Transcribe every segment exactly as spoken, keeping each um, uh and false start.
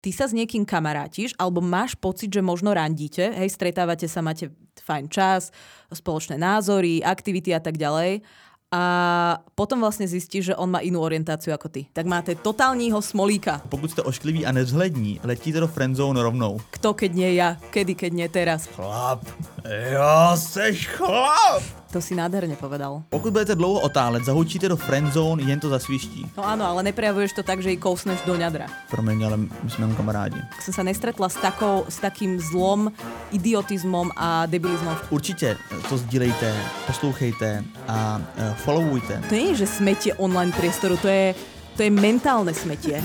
ty sa s niekým kamarátiš, alebo máš pocit, že možno randíte, hej, stretávate sa, máte fajn čas, spoločné názory, aktivity a tak ďalej. A potom vlastně zjistíš, že on má jinou orientaci jako ty. Tak máte totálního smolíka. Pokud jste oškliví a nevzhlední, letíte do friendzone rovnou. Kto, keď nie ja? Kedy, keď nie teraz? Chlap, jo, seš chlap. To si nádherně povedal. Pokud budete dlouho otálet, zahučíte do friendzone, jen to zasviští. No áno, ale neprejavuješ to tak, že ji kousneš do ňadra. Promiň, ale my jsme jenom kamarádi. Jsem se nestretla s, takou, s takým zlom, idiotizmom a debilizmom. Určitě to sdílejte, poslouchejte a uh, followujte. To nie je, že smetie online priestoru, to je, to je mentálne smetie.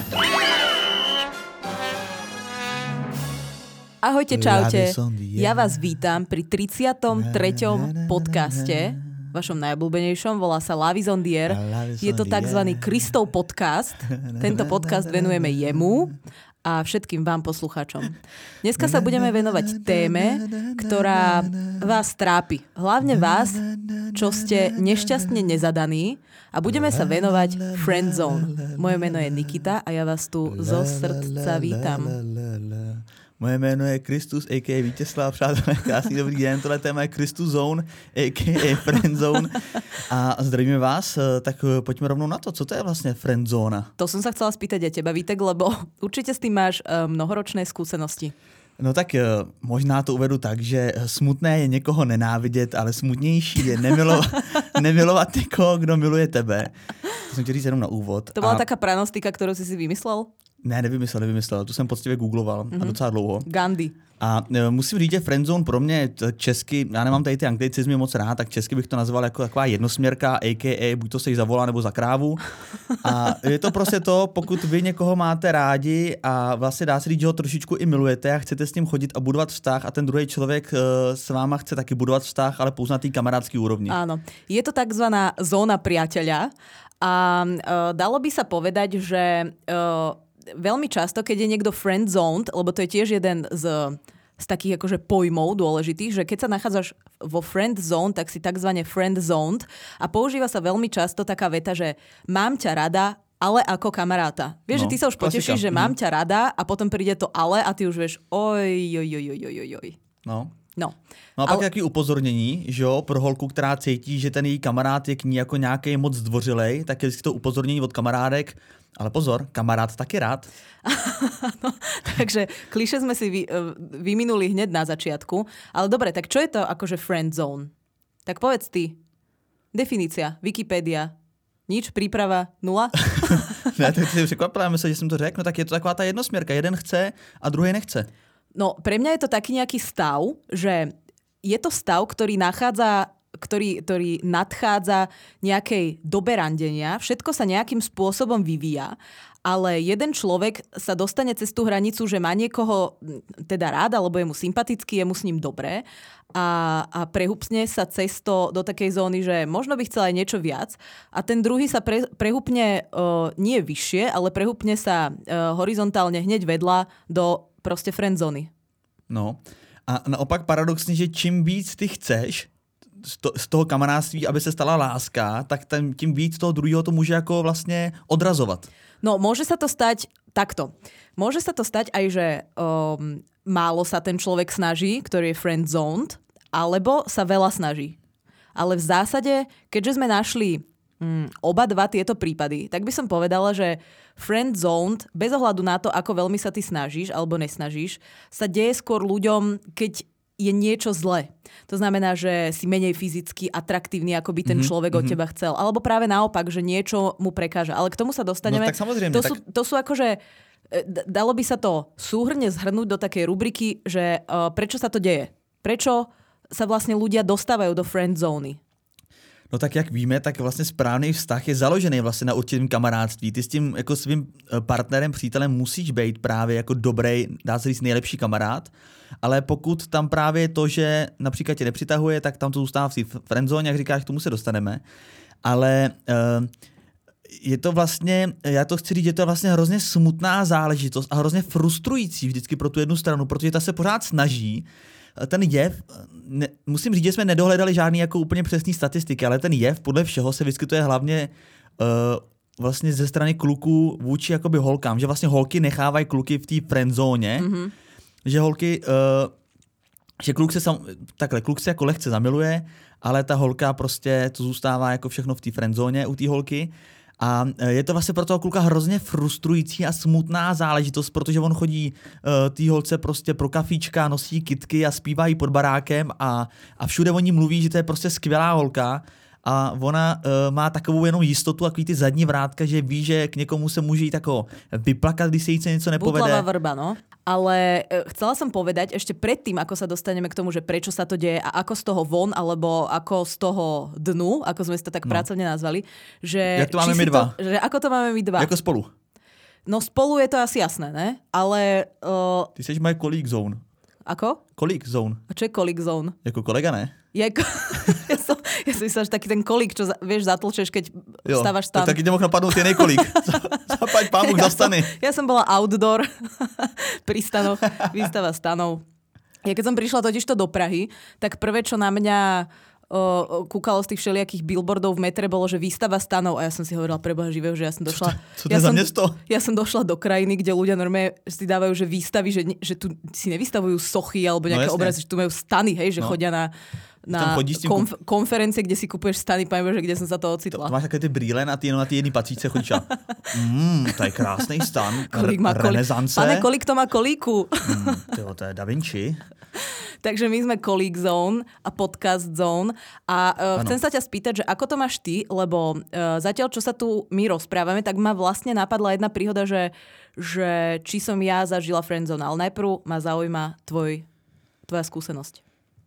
Ahojte, čaute. Ja vás vítam pri tridsiatom treťom podcaste, vašom najobľúbenejšom, volá sa Love is on the air. Je to takzvaný Kristov podcast. Tento podcast venujeme jemu a všetkým vám poslucháčom. Dneska sa budeme venovať téme, ktorá vás trápi. Hlavne vás, čo ste nešťastne nezadaní, a budeme sa venovať friendzone. Moje meno je Nikita a ja vás tu zo srdca vítam. Moje jméno je Kristus, a ká a. Vítězslav, přátelé, krásný dobrý den, tohle téma je Kristus Zone, a ká a. Friendzone. A zdravíme vás, tak pojďme rovnou na to, co to je vlastně friendzona? To som sa chcela spýtať aj teba, Vítek, lebo určite s tým máš mnohoročné skúsenosti. No tak možná to uvedu tak, že smutné je někoho nenávidět, ale smutnější je nemilovat, nemilovat někoho, kdo miluje tebe. To jsem chtěl říct jenom na úvod. To byla a... taká pranostika, kterou jsi si vymyslel? Ne, nevymyslel, nevymyslel. Tu jsem poctivě googloval mm-hmm. a docela dlouho. Gandhi. A e, musím říct, že friendzone pro mě česky, já nemám tady ty anglicizmy moc rád, tak česky bych to nazval jako taková jednosměrka, a ká a, buď to se jí zavolá nebo za krávu. A je to prostě to, pokud vy někoho máte rádi a vlastně dá se říct, že ho trošičku i milujete a chcete s ním chodit a budovat vztah a ten druhý člověk e, s váma chce taky budovat vztah, ale pouze na té kamarádské úrovni. Áno. Je to takzvaná zóna priateľa a e, dalo by sa povedať, že e, veľmi často, keď je niekto friendzoned, lebo to je tiež jeden z, z takých akože pojmov dôležitých, že keď sa nachádzaš vo friendzone, tak si takzvané friendzoned a používa sa veľmi často taká veta, že mám ťa rada, ale ako kamaráta. Vieš, no, že ty sa už klasika. potešíš, že mm. mám ťa rada a potom príde to ale a ty už vieš oj, oj, oj, oj, oj, oj. No. No. No a pak ale... jaký upozornění, že jo, pro holku, která cítí, že ten její kamarád je k ní jako nějaký moc zdvořilej, tak je to upozornění od kamarádek, ale pozor, kamarád taky rád. No, takže klišé sme si vy, vyminuli hneď na začiatku, ale dobre, tak čo je to akože friendzone? Tak povedz ty. Definícia, Wikipédia. Nič, príprava, nula? Ne, tak si překvapila, myslím, že jsem to řekl, no tak je to taková ta jednosměrka, jeden chce a druhý nechce. No, pre mňa je to taký nejaký stav, že je to stav, ktorý nachádza, ktorý, ktorý nadchádza nejakej dobe randenia. Všetko sa nejakým spôsobom vyvíja, ale jeden človek sa dostane cez tú hranicu, že má niekoho teda rád, alebo je mu sympatický, je mu s ním dobré a, a prehupne sa cesto do takej zóny, že možno by chcel aj niečo viac a ten druhý sa pre, prehupne uh, nie vyššie, ale prehupne sa uh, horizontálne hneď vedľa do prostě friendzony. No a naopak paradoxně, že čím víc ty chceš z toho kamarádství, aby se stala láska, tak ten, tím víc toho druhého to může jako vlastně odrazovat. No môže sa to stať takto. Môže sa to stať aj, že um, málo sa ten človek snaží, ktorý je friendzoned, alebo sa veľa snaží. Ale v zásade, keďže sme našli Mm, oba dva tieto prípady, tak by som povedala, že friendzoned, bez ohľadu na to, ako veľmi sa ty snažíš alebo nesnažíš, sa deje skôr ľuďom, keď je niečo zlé. To znamená, že si menej fyzicky atraktívny, ako by ten mm-hmm, človek mm-hmm. od teba chcel. Alebo práve naopak, že niečo mu prekáža. Ale k tomu sa dostaneme. No tak samozrejme. To, tak... sú, to sú akože, dalo by sa to súhrne zhrnúť do takej rubriky, že uh, prečo sa to deje? Prečo sa vlastne ľudia dostávajú do friendzóny? No tak jak víme, tak vlastně správný vztah je založený vlastně na určitém kamarádství. Ty s tím jako svým partnerem, přítelem musíš být právě jako dobrý, dá se říct nejlepší kamarád, ale pokud tam právě je to, že například tě nepřitahuje, tak tam to zůstává v té friendzone, jak říkáš, k tomu se dostaneme. Ale uh, je to vlastně, já to chci říct, že to je vlastně hrozně smutná záležitost a hrozně frustrující vždycky pro tu jednu stranu, protože ta se pořád snaží. Ten jev, ne, musím říct, že jsme nedohledali žádný jako úplně přesný statistiky, ale ten jev podle všeho se vyskytuje hlavně uh, vlastně ze strany kluků vůči jakoby holkám, že vlastně holky nechávají kluky v té friendzóně, mm-hmm. že holky, uh, že kluk se sam, takhle, kluk se jako lehce zamiluje, ale ta holka prostě to zůstává jako všechno v té friendzóně u té holky. A je to vlastně pro toho kluka hrozně frustrující a smutná záležitost, protože on chodí uh, tý holce prostě pro kafíčka, nosí kytky a zpívají pod barákem a, a všude o ní mluví, že to je prostě skvělá holka. A ona uh, má takovou jenom jistotu, takový ty zadní vrátka, že ví, že k někomu se může jít jako vyplakat, když se jí něco nepovede. Butlavá vrba, no. Ale chcela som povedať ešte predtým, ako sa dostaneme k tomu, že prečo sa to deje a ako z toho von, alebo ako z toho dnu, ako sme si to tak no. pracovne nazvali. Že Jak to máme my dva? To, že ako to máme my dva? Jako spolu. No spolu je to asi jasné, ne? Ale... Uh... Ty seš moje colleague zone. Ako? Colleague zone. A čo je colleague zone? Jako kolega, ne? Je ko... ja som, ja som myslela, že taký ten kolík, čo za, vieš, zatlčeš, keď jo, stávaš stan. Tak taky nemohl napadnout jiný kolík. Zapaď pámuk ja za stany. Som, ja som bola outdoor pri stanoch, výstava stanov. Ja keď som prišla totižto do Prahy, tak prvé, čo na mňa o, kúkalo z tých všelijakých billboardov v metre, bolo, že výstava stanov. A ja som si hovorila, preboha živého, že ja som došla... Co to, co to ja je za som, město? Ja som došla do krajiny, kde ľudia normálne si dávajú, že výstavy, že, že tu si nevystavujú sochy alebo nejaké no, obrazy, že tu majú stany, hej, že no. chodia na... na konf- konferencie, kde si kupuješ stany, poviem, že kde som sa to ocitla. To, to máš také ty brýle na ty, jenom na ty jedný patříčce chodíš a mm, to je krásný stan, kolik má renesance. Pane, kolik to má kolíku? Mm, tyjo, to je Da Vinci. Takže my sme Colleague Zone a Podcast Zone a uh, chcem sa ťa spýtať, že ako to máš ty, lebo uh, zatiaľ, čo sa tu my rozprávame, tak ma vlastne napadla jedna príhoda, že, že či som ja zažila friendzone, ale najprv ma zaujíma tvoj, tvoja skúsenosť.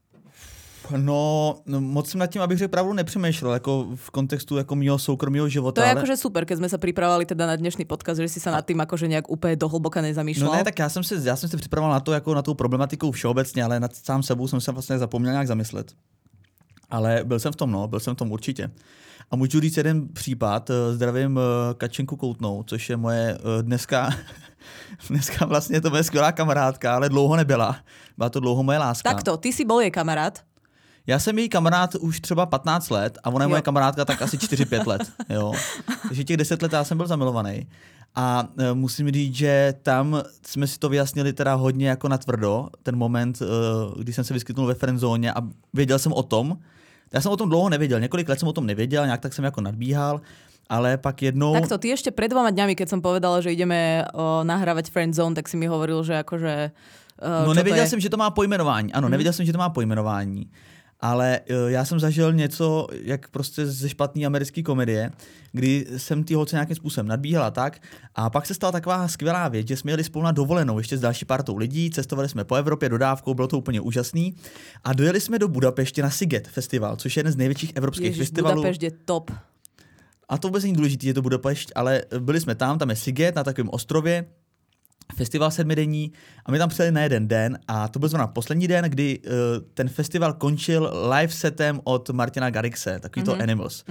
No, no, moc jsem nad tím, abych řekl pravdu, nepřemýšlel, jako v kontextu jako mýho soukromého života. To je ale... akože super, keď sme sa pripravovali teda na dnešný podcast, že si sa nad tým akože nejak úplně dohlboka nezamýšľal. No ne, tak já jsem, se, já jsem se připravoval na to, jako na tu problematiku všeobecně, ale nad sám sebou jsem se vlastně zapomněl nějak zamyslet. Ale byl jsem v tom, no, byl jsem v tom určitě. A můžu říct jeden případ, zdravím Kačenku Koutnou, což je moje dneska... Dneska vlastně to moje skvělá kamarádka, ale dlouho nebyla. Byla to dlouho moje láska. Takto, ty si bol jej kamarád? Já jsem její kamarád už třeba patnáct let a ona je jo. moje kamarádka tak asi čtyři pět let. Jo. Takže těch deset let já jsem byl zamilovaný. A e, musím říct, že tam jsme si to vyjasnili teda hodně jako natvrdo, ten moment, e, kdy jsem se vyskytnul ve friendzóně a věděl jsem o tom. Já jsem o tom dlouho nevěděl, několik let jsem o tom nevěděl, nějak tak jsem jako nadbíhal. Ale pak jednou... Takto, ty ešte pred dvoma dňami, keď som povedala, že ideme o, nahrávať Friendzone, tak si mi hovoril, že akože... O, no nevěděl jsem, že to má pojmenování. Ano, hmm. nevěděl jsem, že to má pojmenování. Ale uh, já jsem zažil něco, jak prostě ze špatný americké komedie, kdy jsem ty holce nějakým způsobem nadbíhala tak a pak se stala taková skvělá věc, že jsme jeli spolu na dovolenou ještě s další partou lidí, cestovali jsme po Evropě dodávkou, bylo to úplně úžasný a dojeli jsme do Budapešti na Sziget festival, což je jeden z největších evropských Ježiš, festivalů. Budapešť je top. A to vůbec není důležité, je to Budapešť, ale byli jsme tam, tam je Sziget na takovém ostrově, festival sedmidenní a my tam přijeli na jeden den a to byl zrovna poslední den, kdy uh, ten festival končil live setem od Martina Garrixe, takový to Animals.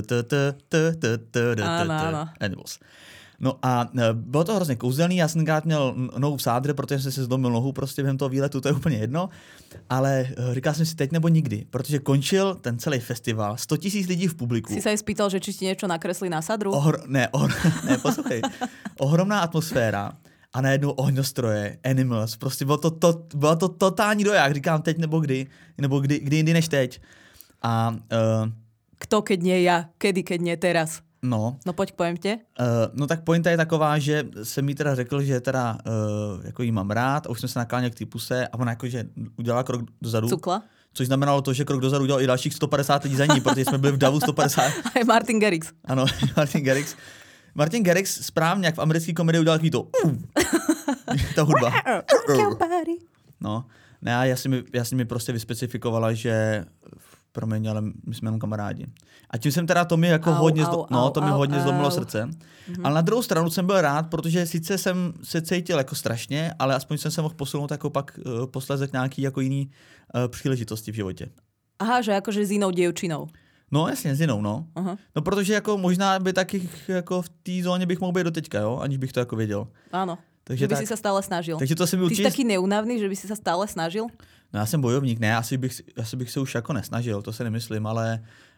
Animals. No a uh, bylo to hrozně kouzelný, já jsem tenkrát měl nohu v sádře, protože jsem si zlomil nohu prostě během toho výletu, to je úplně jedno, ale uh, říkal jsem si teď nebo nikdy, protože končil ten celý festival, sto tisíc lidí v publiku. Si sa aj spýtal, že či ti niečo nakreslí na sadru? Ohr- ne, ohr- ne, poslouchej. Ohromná atmosféra. A najednou ohňostroje, Animals, prostě bylo to, to, bylo to totální doják, říkám teď nebo kdy, nebo kdy, kdy jindy než teď. A, uh, Kto, keď nie ja? Kedy, keď nie teraz? No. No pojď k pointě. Uh, no tak pointa je taková, že jsem mi teda řekl, že teda uh, jako jí mám rád a už jsme se nakláněli k té puse a ona jakože udělala krok dozadu. Cukla. Což znamenalo to, že krok dozadu udělal i dalších sto padesát lidí za ní, protože jsme byli v davu sto padesát. A je Martin Garrix. Ano, Martin Garrix. Martin Garrix správně, jak v americké komedii udělal takový to uh, ta hudba. No, ne, a já si mi, já si mi prostě vyspecifikovala, že promiň, ale my jsme jenom kamarádi. A tím jsem teda to mi jako au, hodně, au, zlo, no, to mi au, hodně au. zlomilo srdce. Mm-hmm. Ale na druhou stranu jsem byl rád, protože sice jsem se cítil jako strašně, ale aspoň jsem se mohl posunout jako pak uh, posléze k nějaký jako jiný uh, příležitosti v životě. Aha, že jakože s jinou děvčinou. No jasně, s jinou, no. Aha. No protože jako možná by taky jako v té zóně bych mohl být do teďka, jo, aniž bych to jako věděl. Ano. Takže že by tak, si sa stále snažil. Takže to si mi určitě... Ty jsi taky neunavný, že by si sa stále snažil? No já jsem bojovník, ne, asi bych, asi bych se už jako nesnažil, to se nemyslím, ale,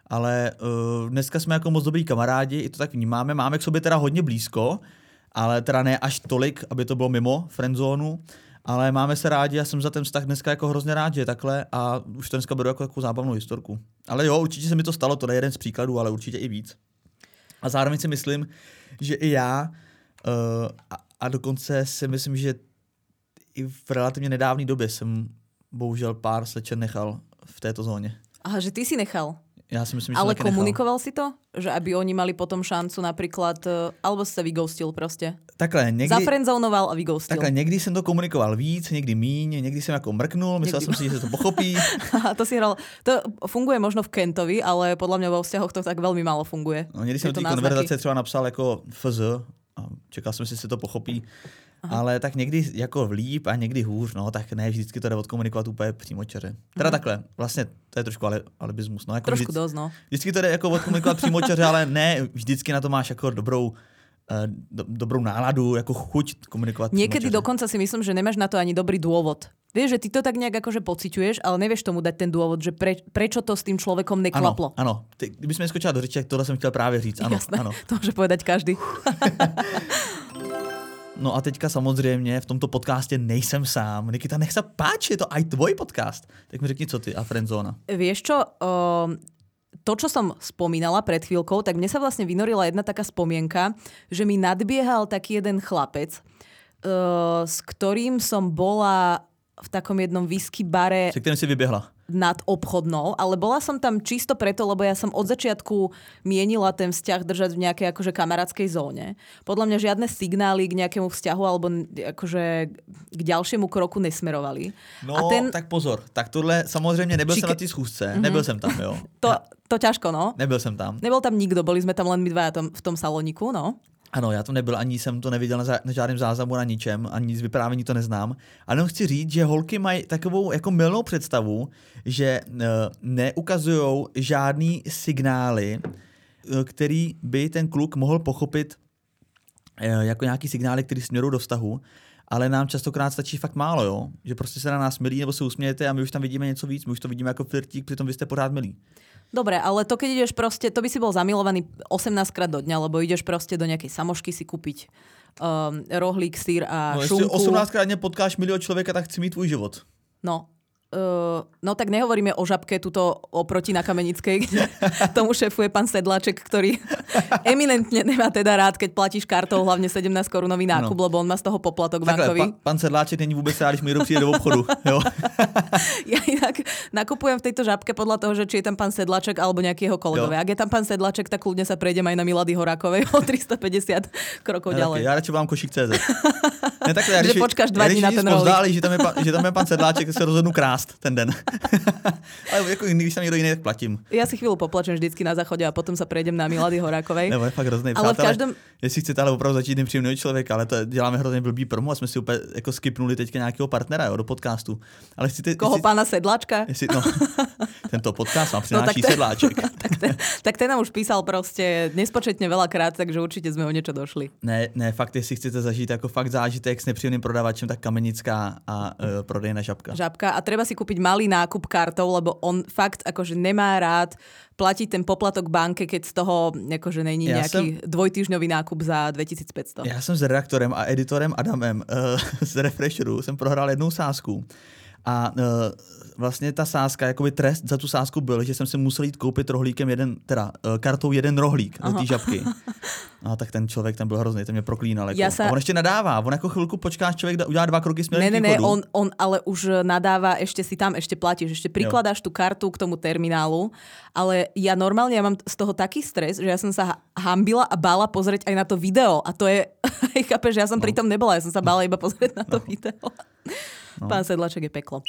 ale uh, dneska jsme jako moc dobrý kamarádi, i to tak vnímáme, máme k sobě teda hodně blízko, ale teda ne až tolik, aby to bylo mimo friendzónu, ale máme se rádi a jsem za ten vztah dneska jako hrozně rád, že je takhle a už to dneska beru jako takovou zábavnou historku. Ale jo, určitě se mi to stalo, to je jeden z příkladů, ale určitě i víc. A zároveň si myslím, že i já uh, a, a dokonce si myslím, že i v relativně nedávné době jsem bohužel pár slečen nechal v této zóně. Aha, že ty si nechal. Ja si myslím, že ale som komunikoval nechal. si to? Že aby oni mali potom šancu napríklad, alebo si sa vyghostil proste? Takhle, někdy... Zafriendzonoval a vyghostil. Takhle, někdy jsem to komunikoval víc, někdy míň, někdy jsem jako mrknul, myslel někdy... jsem si, že to pochopí. to si hral... To funguje možno v Kentovi, ale podľa mňa vo vzťahoch to tak veľmi málo funguje. No, někdy jsem do té konverzace třeba napsal jako fz a čekal jsem si, že se to pochopí. Aha. Ale tak někdy jako líp a někdy hůř, no, tak ne, vždycky to jde odkomunikovat úplně přímočaře. Teda hmm. takhle, vlastně to je trošku ale, alibismus. No, jako trošku vždycky, dost, no. Vždycky to jde jako odkomunikovat přímočaře, ale ne, vždycky na to máš jako dobrou, do, dobrou náladu, jako chuť komunikovat přímočaře. Niekedy dokonca si myslím, že nemáš na to ani dobrý dôvod. Vieš, že ty to tak nejak akože pociťuješ, ale nevieš tomu dať ten dôvod, že pre, prečo to s tým človekom neklaplo. Ano, ano. Ty, kdyby sme skočila do řeči, tak tohle jsem chtěl právě říct. Ano, jasné, ano. To môže povedať každý. No a teďka samozřejmě v tomto podcastě nejsem sám. Nikita, nech se páči, je to aj tvoj podcast. Tak mi řekni, co ty a friendzóna. Vieš čo, um, to, čo som spomínala pred chvíľkou, tak mne sa vlastne vynorila jedna taká spomienka, že mi nadbiehal taký jeden chlapec, uh, s ktorým som bola v takom jednom whisky bare. Se kterým si vyběhla. Nad obchodnou, ale bola som tam čisto preto, lebo ja som od začiatku mienila ten vzťah držať v nejakej akože kamarátskej zóne. Podľa mňa žiadne signály k nejakému vzťahu alebo akože k ďalšiemu kroku nesmerovali. No, a ten... tak pozor. Tak tohle samozřejmě nebyl Či... jsem na té schůzce. Mm-hmm. Nebyl jsem tam, jo. To, to ťažko, no. Nebyl jsem tam. Nebol tam nikto, boli sme tam len my dva v tom saloniku, no. Ano, já tam nebyl, ani jsem to neviděl na, za, na žádném záznamu, na ničem, ani z vyprávění to neznám. Ale jenom chci říct, že holky mají takovou jako mylnou představu, že uh, neukazují žádný signály, uh, který by ten kluk mohl pochopit uh, jako nějaký signály, který směrují do vztahu. Ale nám častokrát stačí fakt málo, jo? Že prostě se na nás milí nebo se usmějete a my už tam vidíme něco víc, my už to vidíme jako flirtík, přitom vy jste pořád milí. Dobre, ale to keď ideš proste, to by si bol zamilovaný osemnásťkrát do dňa, lebo ideš proste do nejakej samošky si kúpiť um, rohlík, sír a no, šunku. No osemnásťkrát dne potkáš milého človeka, tak chci mít tvůj život. No. Uh, no tak nehovoríme o Žabke tuto oproti na Kamenickej, kde tomu šéfuje pán Sedláček, ktorý eminentne nemá teda rád, keď platíš kartou hlavne sedemnásť korunový nákup, no. Lebo on má z toho poplatok takhle, bankový. Pa, pán Sedláček není vôbec rád, když mi přijde do obchodu. Jo? Ja inak nakupujem v tejto Žabke podľa toho, že či je tam pán Sedláček alebo nejaký jeho kolegovia. Ak je tam pán Sedláček, tak kľudne sa prejdem aj na Milady Horákovej o tristopäťdesiat krokov ja, ďalej. Ja radšej vám košík tečka cé zet. Ne, takhle, ja, že když, počkáš dva dní na ten rohlík. Pozdáli, že tam je, že tam je pán Sedláček, se rozhodnu krásť ten den. Ale jako když tam někdo jiný, tak platím. Ja si chvíľu poplačem vždycky na záchode a potom sa prejdem na Milady Horákovej. Nebo je fakt hrozný. Ale v každém... Jestli chcete ale opravdu začít nepříjemného člověka, ale to děláme hrozně blbý promo a jsme si úplně jako skipnuli teďka nějakého partnera, jo, do podcastu. Ale chcete, Koho, jestli, pána Sedláčka? Jestli, no, tento podcast vám přináší no, ten, Sedláček. tak, ten, tak ten nám už písal prostě nespočetně veľakrát, takže určitě jsme o něco došli. Ne, ne, fakt, jestli chcete zažít jako fakt zážitek s nepříjemným prodavačem, tak Kamenická a uh, prodejna Žabka. Žabka a treba si kúpiť malý nákup kartou, lebo on fakt akože nemá rád platiť ten poplatok banke, keď z toho akože není ja nejaký som, dvojtýždňový nákup za dvetisícpäťsto. Já jsem s redaktorem a editorem Adamem uh, z Refresheru jsem prohrál jednou sázku. A uh, vlastně ta sázka, jakoby trest za tu sázku byl, že jsem si musel jít koupit rohlíkem jeden, teda uh, kartou jeden rohlík Aha. do té Žabky. A tak ten člověk tam byl hrozný, ten mě proklínal. Jako. Sa... A on ještě nadává, on jako chvilku počkáš, člověk udělá dva kroky směrem ne, k ne, východu. on, on ale už nadáva, ešte si tam, ešte platíš, ešte prikladáš tú kartu k tomu terminálu, ale ja normálne, ja mám z toho taký stres, že ja som sa hambila a bála pozrieť aj na to video a to je, chápeš, že ja som no. pritom nebola, ja som sa bála iba pozrieť na to no. video. No. Pán Sedláček je peklo.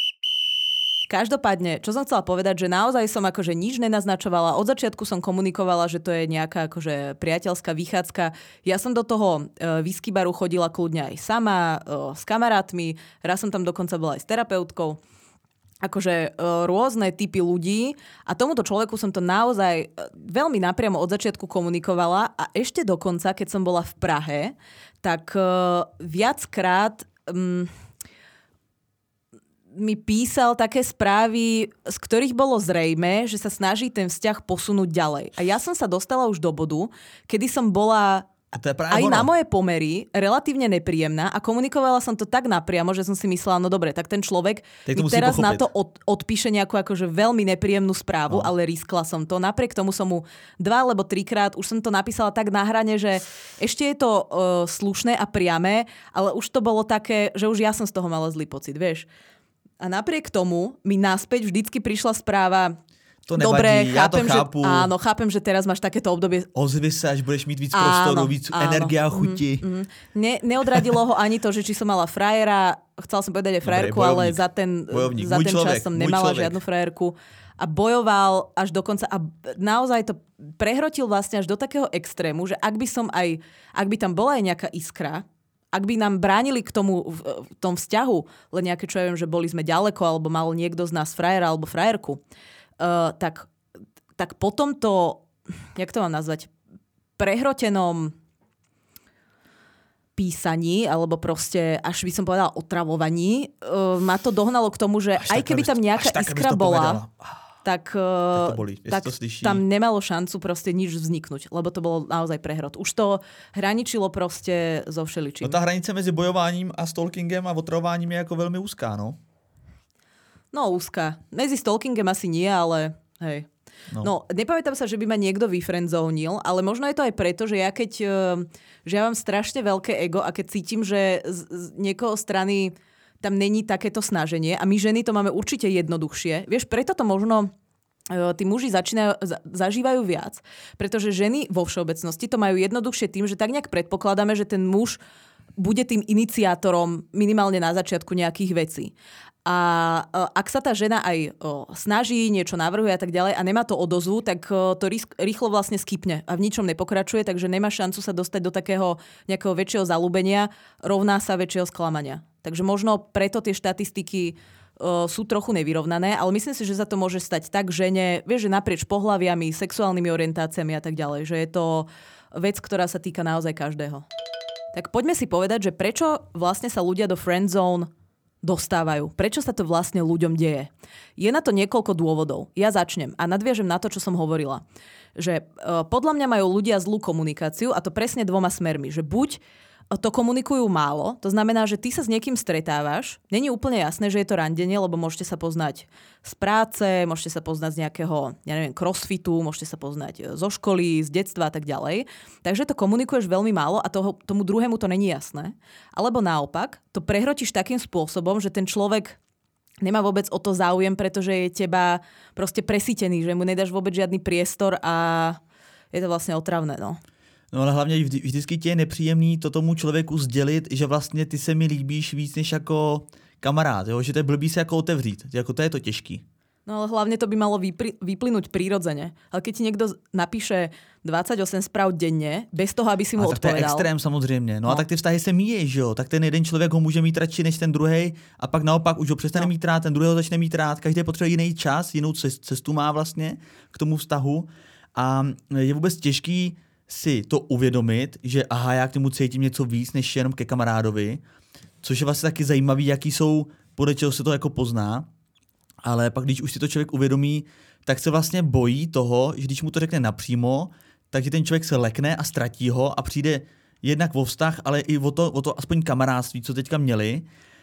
Každopádne, čo som chcela povedať, že naozaj som akože nič nenaznačovala. Od začiatku som komunikovala, že to je nejaká akože priateľská vychádzka. Ja som do toho e, whisky baru chodila kľudne aj sama, e, s kamarátmi. Raz som tam dokonca bola aj s terapeutkou. Akože e, rôzne typy ľudí. A tomuto človeku som to naozaj e, veľmi napriamo od začiatku komunikovala. A ešte dokonca, keď som bola v Prahe, tak e, viackrát... Mm, mi písal také správy, z ktorých bolo zrejmé, že sa snaží ten vzťah posunúť ďalej. A ja som sa dostala už do bodu, kedy som bola aj ono. Na moje pomery relatívne nepríjemná a komunikovala som to tak napriamo, že som si myslela, no dobre, tak ten človek mi teraz pochopiť. Na to od, odpíše nejakú akože veľmi nepríjemnú správu, no. Ale riskla som to. Napriek tomu som mu dva alebo trikrát, už som to napísala tak na hrane, že ešte je to uh, slušné a priame, ale už to bolo také, že už ja som z toho mala zlý pocit, vieš. A napriek tomu mi naspäť vždycky prišla správa, to nevadí, dobre, chápem, ja to chápu. Že, áno, chápem, že teraz máš takéto obdobie. Ozvi sa, až budeš mít víc prostoru, víc áno. Energia a chuti. Mm, mm. Ne, neodradilo ho ani to, že či som mala frajera, chcela som povedať aj frajerku, dobre, ale za ten, za ten človek, čas som nemala žiadnu frajerku. A bojoval až do konca. A naozaj to prehrotil vlastne až do takého extrému, že ak by som aj, ak by tam bola aj nejaká iskra, ak by nám bránili k tomu v, v tom vzťahu, len nejaké, čo ja viem, že boli sme ďaleko, alebo mal niekto z nás frajera alebo frajerku, Uh, tak, tak potom to, jak to mám nazvať, prehrotenom písaní, alebo proste, až by som povedala otravovaní, uh, ma to dohnalo k tomu, že až aj keby tam nejaká iskra bola, tak, uh, tak, tak tam nemalo šancu proste nič vzniknúť, lebo to bolo naozaj prehrot. Už to hraničilo proste so všeličím. No tá hranica mezi bojováním a stalkingem a otravováním je ako veľmi úzká, no? No, úzka. Medzi stalkingem asi nie, ale hej. No. no, nepamätám sa, že by ma niekto vyfriendzonil, ale možno je to aj preto, že ja keď, že ja mám strašne veľké ego a keď cítim, že z, z niekoho strany tam není takéto snaženie a my ženy to máme určite jednoduchšie. Vieš, preto to možno tí muži začínajú, zažívajú viac, pretože ženy vo všeobecnosti to majú jednoduchšie tým, že tak nejak predpokladáme, že ten muž bude tým iniciátorom minimálne na začiatku nejakých vecí. A ak sa tá žena aj snaží, niečo navrhuje a tak ďalej a nemá to odozvu, tak to rýchlo vlastne skipne a v ničom nepokračuje, takže nemá šancu sa dostať do takého nejakého väčšieho zalúbenia, rovná sa väčšieho sklamania. Takže možno preto tie štatistiky sú trochu nevyrovnané, ale myslím si, že sa to môže stať tak žene, vieš, že naprieč pohlaviami, sexuálnymi orientáciami a tak ďalej, že je to vec, ktorá sa týka naozaj každého. Tak poďme si povedať, že prečo vlastne sa ľudia do friendzone dostávajú. Prečo sa to vlastne ľuďom deje? Je na to niekoľko dôvodov. Ja začnem a nadviažem na to, čo som hovorila. Že e, podľa mňa majú ľudia zlú komunikáciu a to presne dvoma smermi. Že buď to komunikujú málo, to znamená, že ty sa s niekým stretávaš, není úplne jasné, že je to randenie, lebo môžete sa poznať z práce, môžete sa poznať z nejakého, ja neviem, crossfitu, môžete sa poznať zo školy, z detstva a tak ďalej. Takže to komunikuješ veľmi málo a toho, tomu druhému to není jasné. Alebo naopak, to prehrotíš takým spôsobom, že ten človek nemá vôbec o to záujem, pretože je teba proste presýtený, že mu nedáš vôbec žiadny priestor a je to vlastne otravné, no. No ale hlavně vždy, vždycky tě je nepříjemný to tomu člověku sdělit, že vlastně ty se mi líbíš víc než jako kamarád, jo? Že to je blbý se jako otevřít, jako to je to těžký. No ale hlavne to by malo vypri- vyplynúť prírodzene. Ale keď ti niekto napíše dvadsaťosem správ denne, bez toho, aby si mu a odpovedal. Tak to je extrém samozřejmě. No, no a tak ty vztahy se míjejí, že jo? Tak ten jeden člověk ho může mít radši než ten druhej a pak naopak už ho přestane no. mít rád, ten druhý ho začne mít rád. Každý potřebuje jiný čas, jinou cestu má vlastně k tomu vztahu a je vůbec těžký si to uvědomit, že aha, já k tomu cítím něco víc než jenom ke kamarádovi, což je vlastně taky zajímavý, jaký jsou, podle čeho se to jako pozná, ale pak když už si to člověk uvědomí, tak se vlastně bojí toho, že když mu to řekne napřímo, takže ten člověk se lekne a ztratí ho a přijde jednak o vztah, ale i o to, o to aspoň kamarádství, co teďka měli.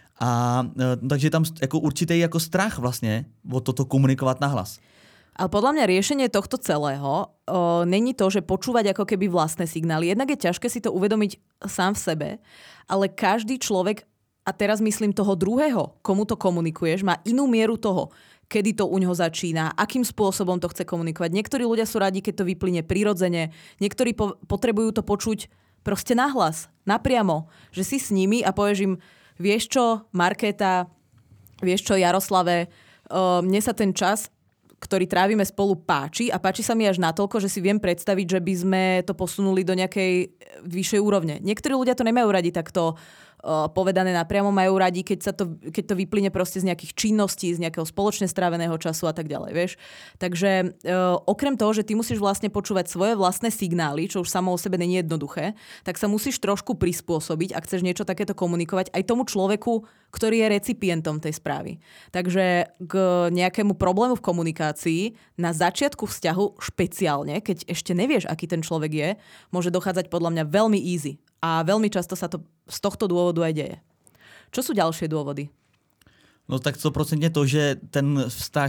A takže je tam jako určitý jako strach vlastně o toto komunikovat nahlas. Ale podľa mňa riešenie tohto celého o, není to, že počúvať ako keby vlastné signály. Jednak je ťažké si to uvedomiť sám v sebe, ale každý človek, a teraz myslím toho druhého, komu to komunikuješ, má inú mieru toho, kedy to u ňoho začína, akým spôsobom to chce komunikovať. Niektorí ľudia sú radi, keď to vyplyne prirodzene, niektorí po- potrebujú to počuť proste nahlas, napriamo, že si s nimi a povieš im, vieš čo, Markéta, vieš čo, Jaroslave, o, mne sa ten čas, ktorý trávime spolu, páči a páči sa mi až natoľko, že si viem predstaviť, že by sme to posunuli do nejakej vyššej úrovne. Niektorí ľudia to nemajú radi takto povedané napriamo, majú radi, keď, sa to, keď to vyplyne proste z nejakých činností, z nejakého spoločne stráveného času a tak ďalej, vieš. Takže uh, okrem toho, že ty musíš vlastne počúvať svoje vlastné signály, čo už samo o sebe nie je jednoduché, tak sa musíš trošku prispôsobiť, ak chceš niečo takéto komunikovať aj tomu človeku, ktorý je recipientom tej správy. Takže k nejakému problému v komunikácii na začiatku vzťahu špeciálne, keď ešte nevieš, aký ten človek je, môže dochádzať podľa mňa veľmi easy. A veľmi často sa to z tohto dôvodu aj deje. Čo sú ďalšie dôvody? No tak sto procent to, že ten vztah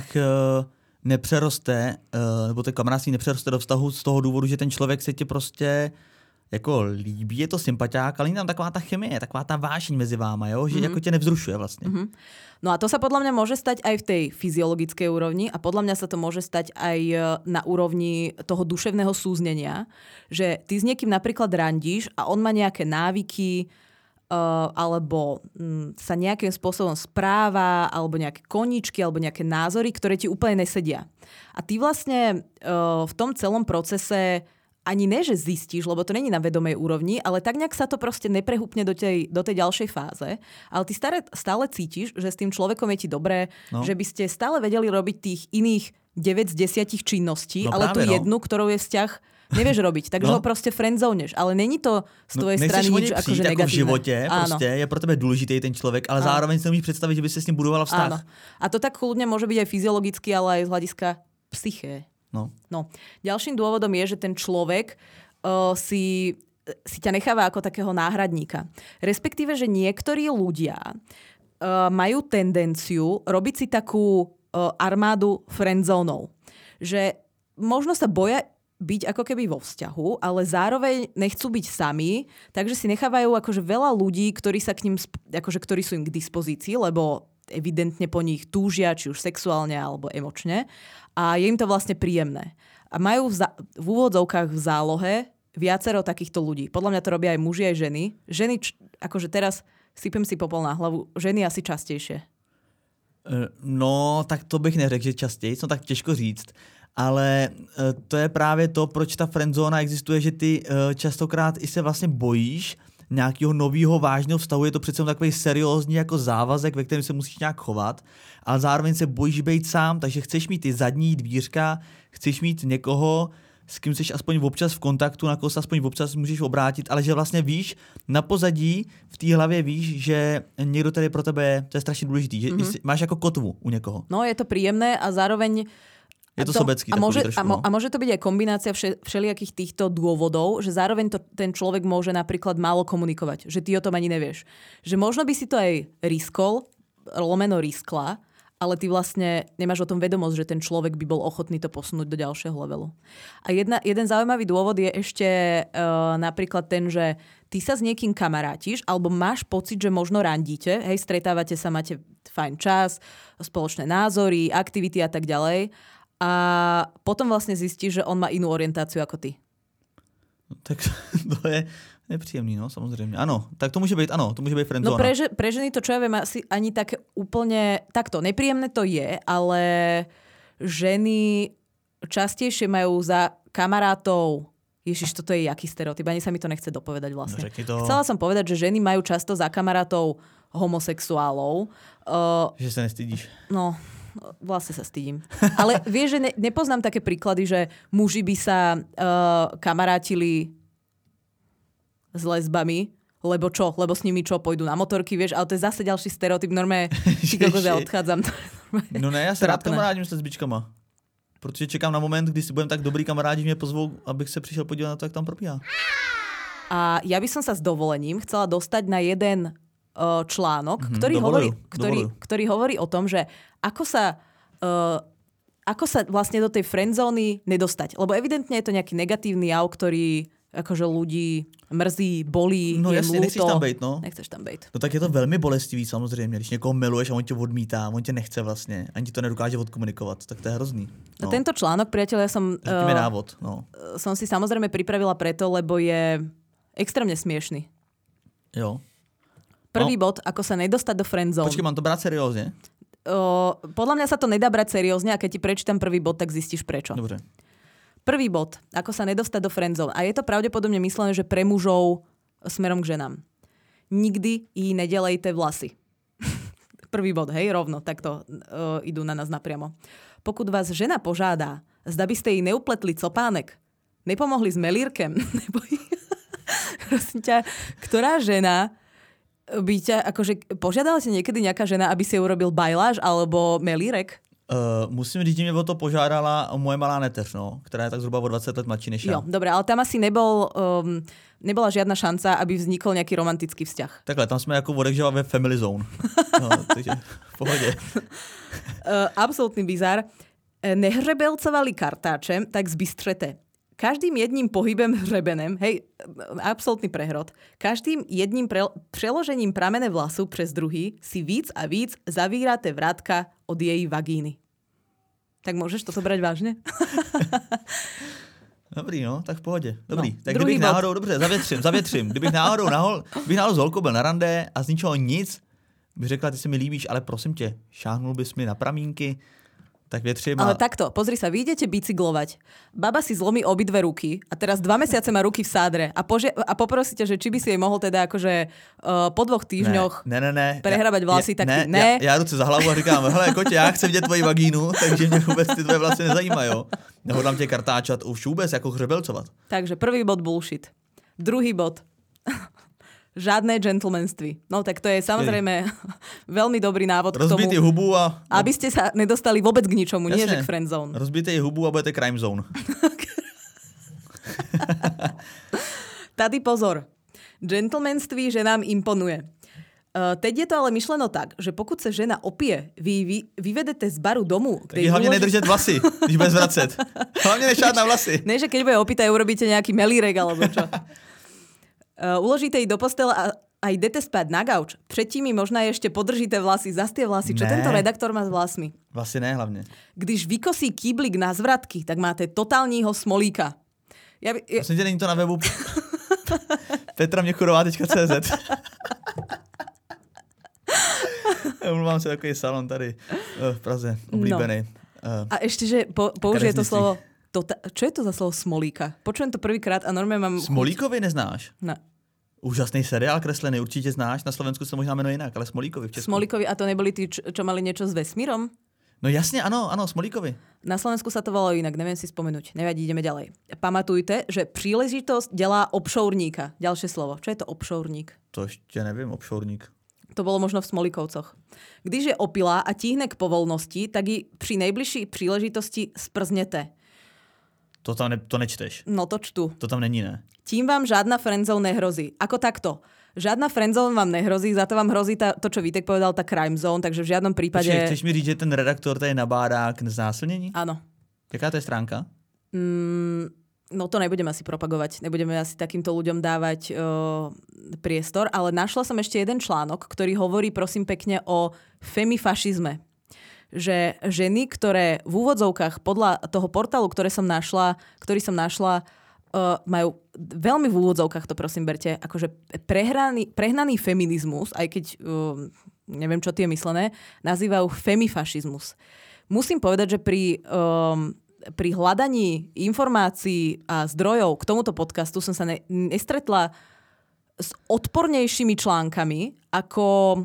nepřeroste, nebo ten kamarádství nepřeroste do vztahu z toho důvodu, že ten člověk se ti prostě jako líbí, je to sympatiák, ale není tam taková ta chemie, taková ta vášeň mezi váma, jo? Že mm-hmm. jako tě nevzrušuje vlastně. Mm-hmm. No a to sa podľa mňa môže stať aj v tej fyziologickej úrovni a podľa mňa sa to môže stať aj na úrovni toho duševného súznenia, že ty s niekým napríklad randíš a on má nejaké návyky uh, alebo um, sa nejakým spôsobom správa alebo nejaké koníčky alebo nejaké názory, ktoré ti úplne nesedia. A ty vlastne uh, v tom celom procese ani ne, že zistíš, lebo to není na vedomej úrovni, ale tak nejak sa to proste neprehúpne do tej, do tej ďalšej fáze. Ale ty stále, stále cítiš, že s tým človekom je ti dobré, no. Že by ste stále vedeli robiť tých iných deväť z desať činností, no ale tú no. jednu, ktorou je vzťah, nevieš robiť. Takže no. ho proste friendzoneš. Ale není to z tvojej no, strany nič akože negatívne. Ako v živote, proste, je pro tebe dôležitý ten človek, ale Áno. zároveň si nemôžeš predstaviť, že by si s ním budovala vzťah. Áno. A to tak kľudne môže byť aj fyziologicky, ale aj z hľadiska psyché. No. no. Ďalším dôvodom je, že ten človek uh, si, si ťa necháva ako takého náhradníka. Respektíve, že niektorí ľudia uh, majú tendenciu robiť si takú uh, armádu friendzónov. Že možno sa boja byť ako keby vo vzťahu, ale zároveň nechcú byť sami, takže si nechávajú akože veľa ľudí, ktorí sa k ním, akože ktorí sú im k dispozícii, lebo evidentne po nich túžia, či už sexuálne alebo emočne. A je im to vlastne príjemné. A majú v, za- v úvodzovkách v zálohe viacero takýchto ľudí. Podľa mňa to robia aj muži, aj ženy. Ženy, č- akože teraz sypem si popol na hlavu, ženy asi častejšie. No, tak to bych neřekl, že častěji, no tak těžko říct. Ale to je právě to, proč ta friendzóna existuje, že ty častokrát i se vlastně bojíš nějakého nového vážného vztahu, je to přece takový seriózní jako závazek, ve kterém se musíš nějak chovat, ale zároveň se bojíš být sám, takže chceš mít ty zadní dvířka, chceš mít někoho, s kým jsi aspoň občas v kontaktu, na koho se aspoň občas můžeš obrátit, ale že vlastně víš, na pozadí v té hlavě víš, že někdo tady pro tebe je, to je strašně důležitý, že mm-hmm. máš jako kotvu u někoho. No, je to príjemné a zároveň je to, to sobecký. A môže, trošku, a, mo, a môže to byť aj kombinácia vše, všelijakých týchto dôvodov, že zároveň to, ten človek môže napríklad málo komunikovať, že ty o tom ani nevieš. Že možno by si to aj riskol, lomeno riskla, ale ty vlastne nemáš o tom vedomosť, že ten človek by bol ochotný to posunúť do ďalšieho levelu. A jedna, jeden zaujímavý dôvod je ešte uh, napríklad ten, že ty sa s niekým kamarátiš, alebo máš pocit, že možno randíte, hej, stretávate sa, máte fajn čas, spoločné názory, aktivity a tak ďalej. A potom vlastne zistíš, že on má inú orientáciu ako ty. No, tak to je nepříjemný, no, samozrejme. Áno, tak to môže byť, áno, to môže byť friendzóna. No pre, pre ženy to, čo ja viem, asi ani také úplne, takto, nepríjemné to je, ale ženy častejšie majú za kamarátov, ježiš, toto je jaký stereotyp, ani sa mi to nechce dopovedať vlastne. No, to... Chcela som povedať, že ženy majú často za kamarátov homosexuálov. Uh, že sa nestydíš. No... Vlastne sa stydím. Ale vieš, že ne, nepoznám také príklady, že muži by sa uh, kamarátili s lesbami, lebo čo? Lebo s nimi čo? Pôjdu na motorky, vieš? Ale to je zase ďalší stereotyp. Normálne, či kokos ja odchádzam. No ne, ja sa rád kamarádím s lesbičkama. Protože čekám na moment, kdy si budem tak dobrý kamarádi, že mě pozvou, abych se přišel podívat na to, jak tam probíhá. A ja by som sa s dovolením chcela dostať na jeden článok, mm-hmm, ktorý, hovorí, ktorý, ktorý hovorí o tom, že ako sa, uh, ako sa vlastne do tej friendzóny nedostať. Lebo evidentne je to nejaký negatívny jav, ktorý akože ľudí mrzí, bolí, no, je jasne, ľúto. nechceš tam bejt, no. Nechceš tam bejt. No tak je to velmi bolestivý samozřejmě, když někoho miluješ a on tě odmítá, on tě nechce vlastně, ani ti to nedokáže odkomunikovat, tak to je hrozný. No. No tento článok, priateľ, ja som, uh, návod, no. som si samozrejme pripravila preto, lebo je extrémne smiešný. Jo. Prvý no. bod, ako sa nedostať do friendzone. Počkej, mám to brať seriózne? Uh, podľa mňa sa to nedá brať seriózne a keď ti prečítam prvý bod, tak zistíš prečo. Dobre. Prvý bod, ako sa nedostať do friendzone. A je to pravdepodobne myslené, že pre mužov smerom k ženám. nikdy jí nedelejte vlasy. Prvý bod, hej, rovno, takto uh, idú na nás napriamo. Pokud vás žena požádá, zda by ste jej neupletli copánek, nepomohli s melírkem, nebo... Prosím ťa, ktorá žena by ťa, akože požiadala si niekedy nejaká žena, aby si urobil bajláž alebo melírek? Uh, musím říct, že mě o to požádala moje malá neteř, no, která je tak zhruba o dvacet let mladší než já. Jo, dobre, ale tam asi nebol, um, nebola žiadna šanca, aby vznikol nejaký romantický vzťah. Takhle, tam jsme jako odekžela ve family zone. No, takže v pohodě. Uh, absolútny bizár. Nehřebelcovali kartáčem, tak zbystřete. Každým jedním pohybem hřebenem, hej, absolútny prehrod, každým jedním pre, preložením pramene vlasu přes druhý si víc a víc zavíráte vrátka od její vagíny. Tak môžeš toto brať vážne? Dobrý, no, tak v pohodě. Dobrý. No, tak kdybych bod. náhodou, dobře, zavětřím, zavětřím. Kdybych náhodou, nahol, kdybych náhodou s holkou byl na rande a z ničeho nic, bych řekla, ty si mi líbíš, ale prosím tě, šáhnul bys mi na pramínky, tak větřím. A... Ale takto, pozri sa, vy idete bicyklovať. Baba si zlomí obidve ruky a teraz dva mesiace má ruky v sádre a, pože- a poprosíte, že či by si jej mohol teda akože uh, po dvoch týždňoch ne, ne, ne, prehrabať vlasy, ja, tak ne, ty ne. Já, já ruce za hlavu a říkám, hele kotě, já chci vidět tvoji vagínu, takže mě vůbec ty tvoje vlasy nezajímají, jo. Nehodlám tě kartáčat už vůbec jako hřebelcovat. Takže prvý bod bullshit. Druhý bod. Žiadne gentlemanství. No tak to je samozrejme veľmi dobrý návod Rozbít k tomu, hubu a... aby ste sa nedostali vôbec k ničomu, Jasne. nie že k friendzone. Rozbijte jej hubu a budete crime zone. Tady pozor. Gentlemanství ženám imponuje. Uh, teď je to ale myšleno tak, že pokud se žena opije, vy, vy vyvedete z baru domů. Tak hlavně uloží... nedržet vlasy, když bude zvracet. Hlavně nešát na vlasy. Ne, že keď bude opýtať, urobíte nejaký melírek alebo čo. Uh, uložíte ji do postele a, a idete spať na gauč. Předtím mi možná ještě podržíte vlasy, zas tie vlasy. Čo ne. tento redaktor má s vlasmi? Vlasy ne hlavně. Když vykosí kýblik na zvratky, tak máte totálního smolíka. Ja by, ja... Prosím tě, není to na webu petra měchurová tečka cé zet. Umluvám se, takový salon tady v Praze, oblíbený. No. A ešte, že po, použije to slovo... Tota- čo je to za slovo smolíka? Počujem to prvýkrát a normálne mám... Smolíkovi neznáš? Ne. Úžasný seriál kreslený, určitě znáš. Na Slovensku se možná jmenuje jinak, ale Smolíkovi v Česku. Smolíkovi, a to neboli tí, čo, čo mali niečo s vesmírom? No jasne, ano, ano, Smolíkovi. Na Slovensku sa to volalo inak, neviem si spomenúť. Nevadí, ideme ďalej. Pamatujte, že príležitosť delá obšourníka. Ďalšie slovo. Čo je to obšourník? To ešte neviem, obšourník. To bolo možno v Smolíkovcoch. Když je opilá a tíhne k povolnosti, tak ji při nejbližší příležitosti sprzněte. To tam ne, to nečteš. No to čtu. To tam není, ne? Tím vám žádna friendzone nehrozí. Ako takto. Žádna friendzone vám nehrozí, za to vám hrozí ta, to, čo Vítek povedal, ta crime zone, takže v žiadnom prípade... Počkej, chceš mi říct, že ten redaktor tady nabádá k znásilnění? Áno. Jaká to je stránka? Mm, no to nebudeme asi propagovať. Nebudeme asi takýmto ľuďom dávať uh, priestor, ale našla som ešte jeden článok, ktorý hovorí, prosím pekne, o femifašizme. Že ženy, ktoré v úvodzovkách podľa toho portálu, ktoré som našla, ktorý som našla, uh, majú veľmi v úvodzovkách, to prosím berte, akože prehraný, prehnaný feminizmus, aj keď uh, neviem, čo tie je myslené, nazývajú femifašizmus. Musím povedať, že pri, um, pri hľadaní informácií a zdrojov k tomuto podcastu som sa ne, nestretla s odpornejšími článkami, ako...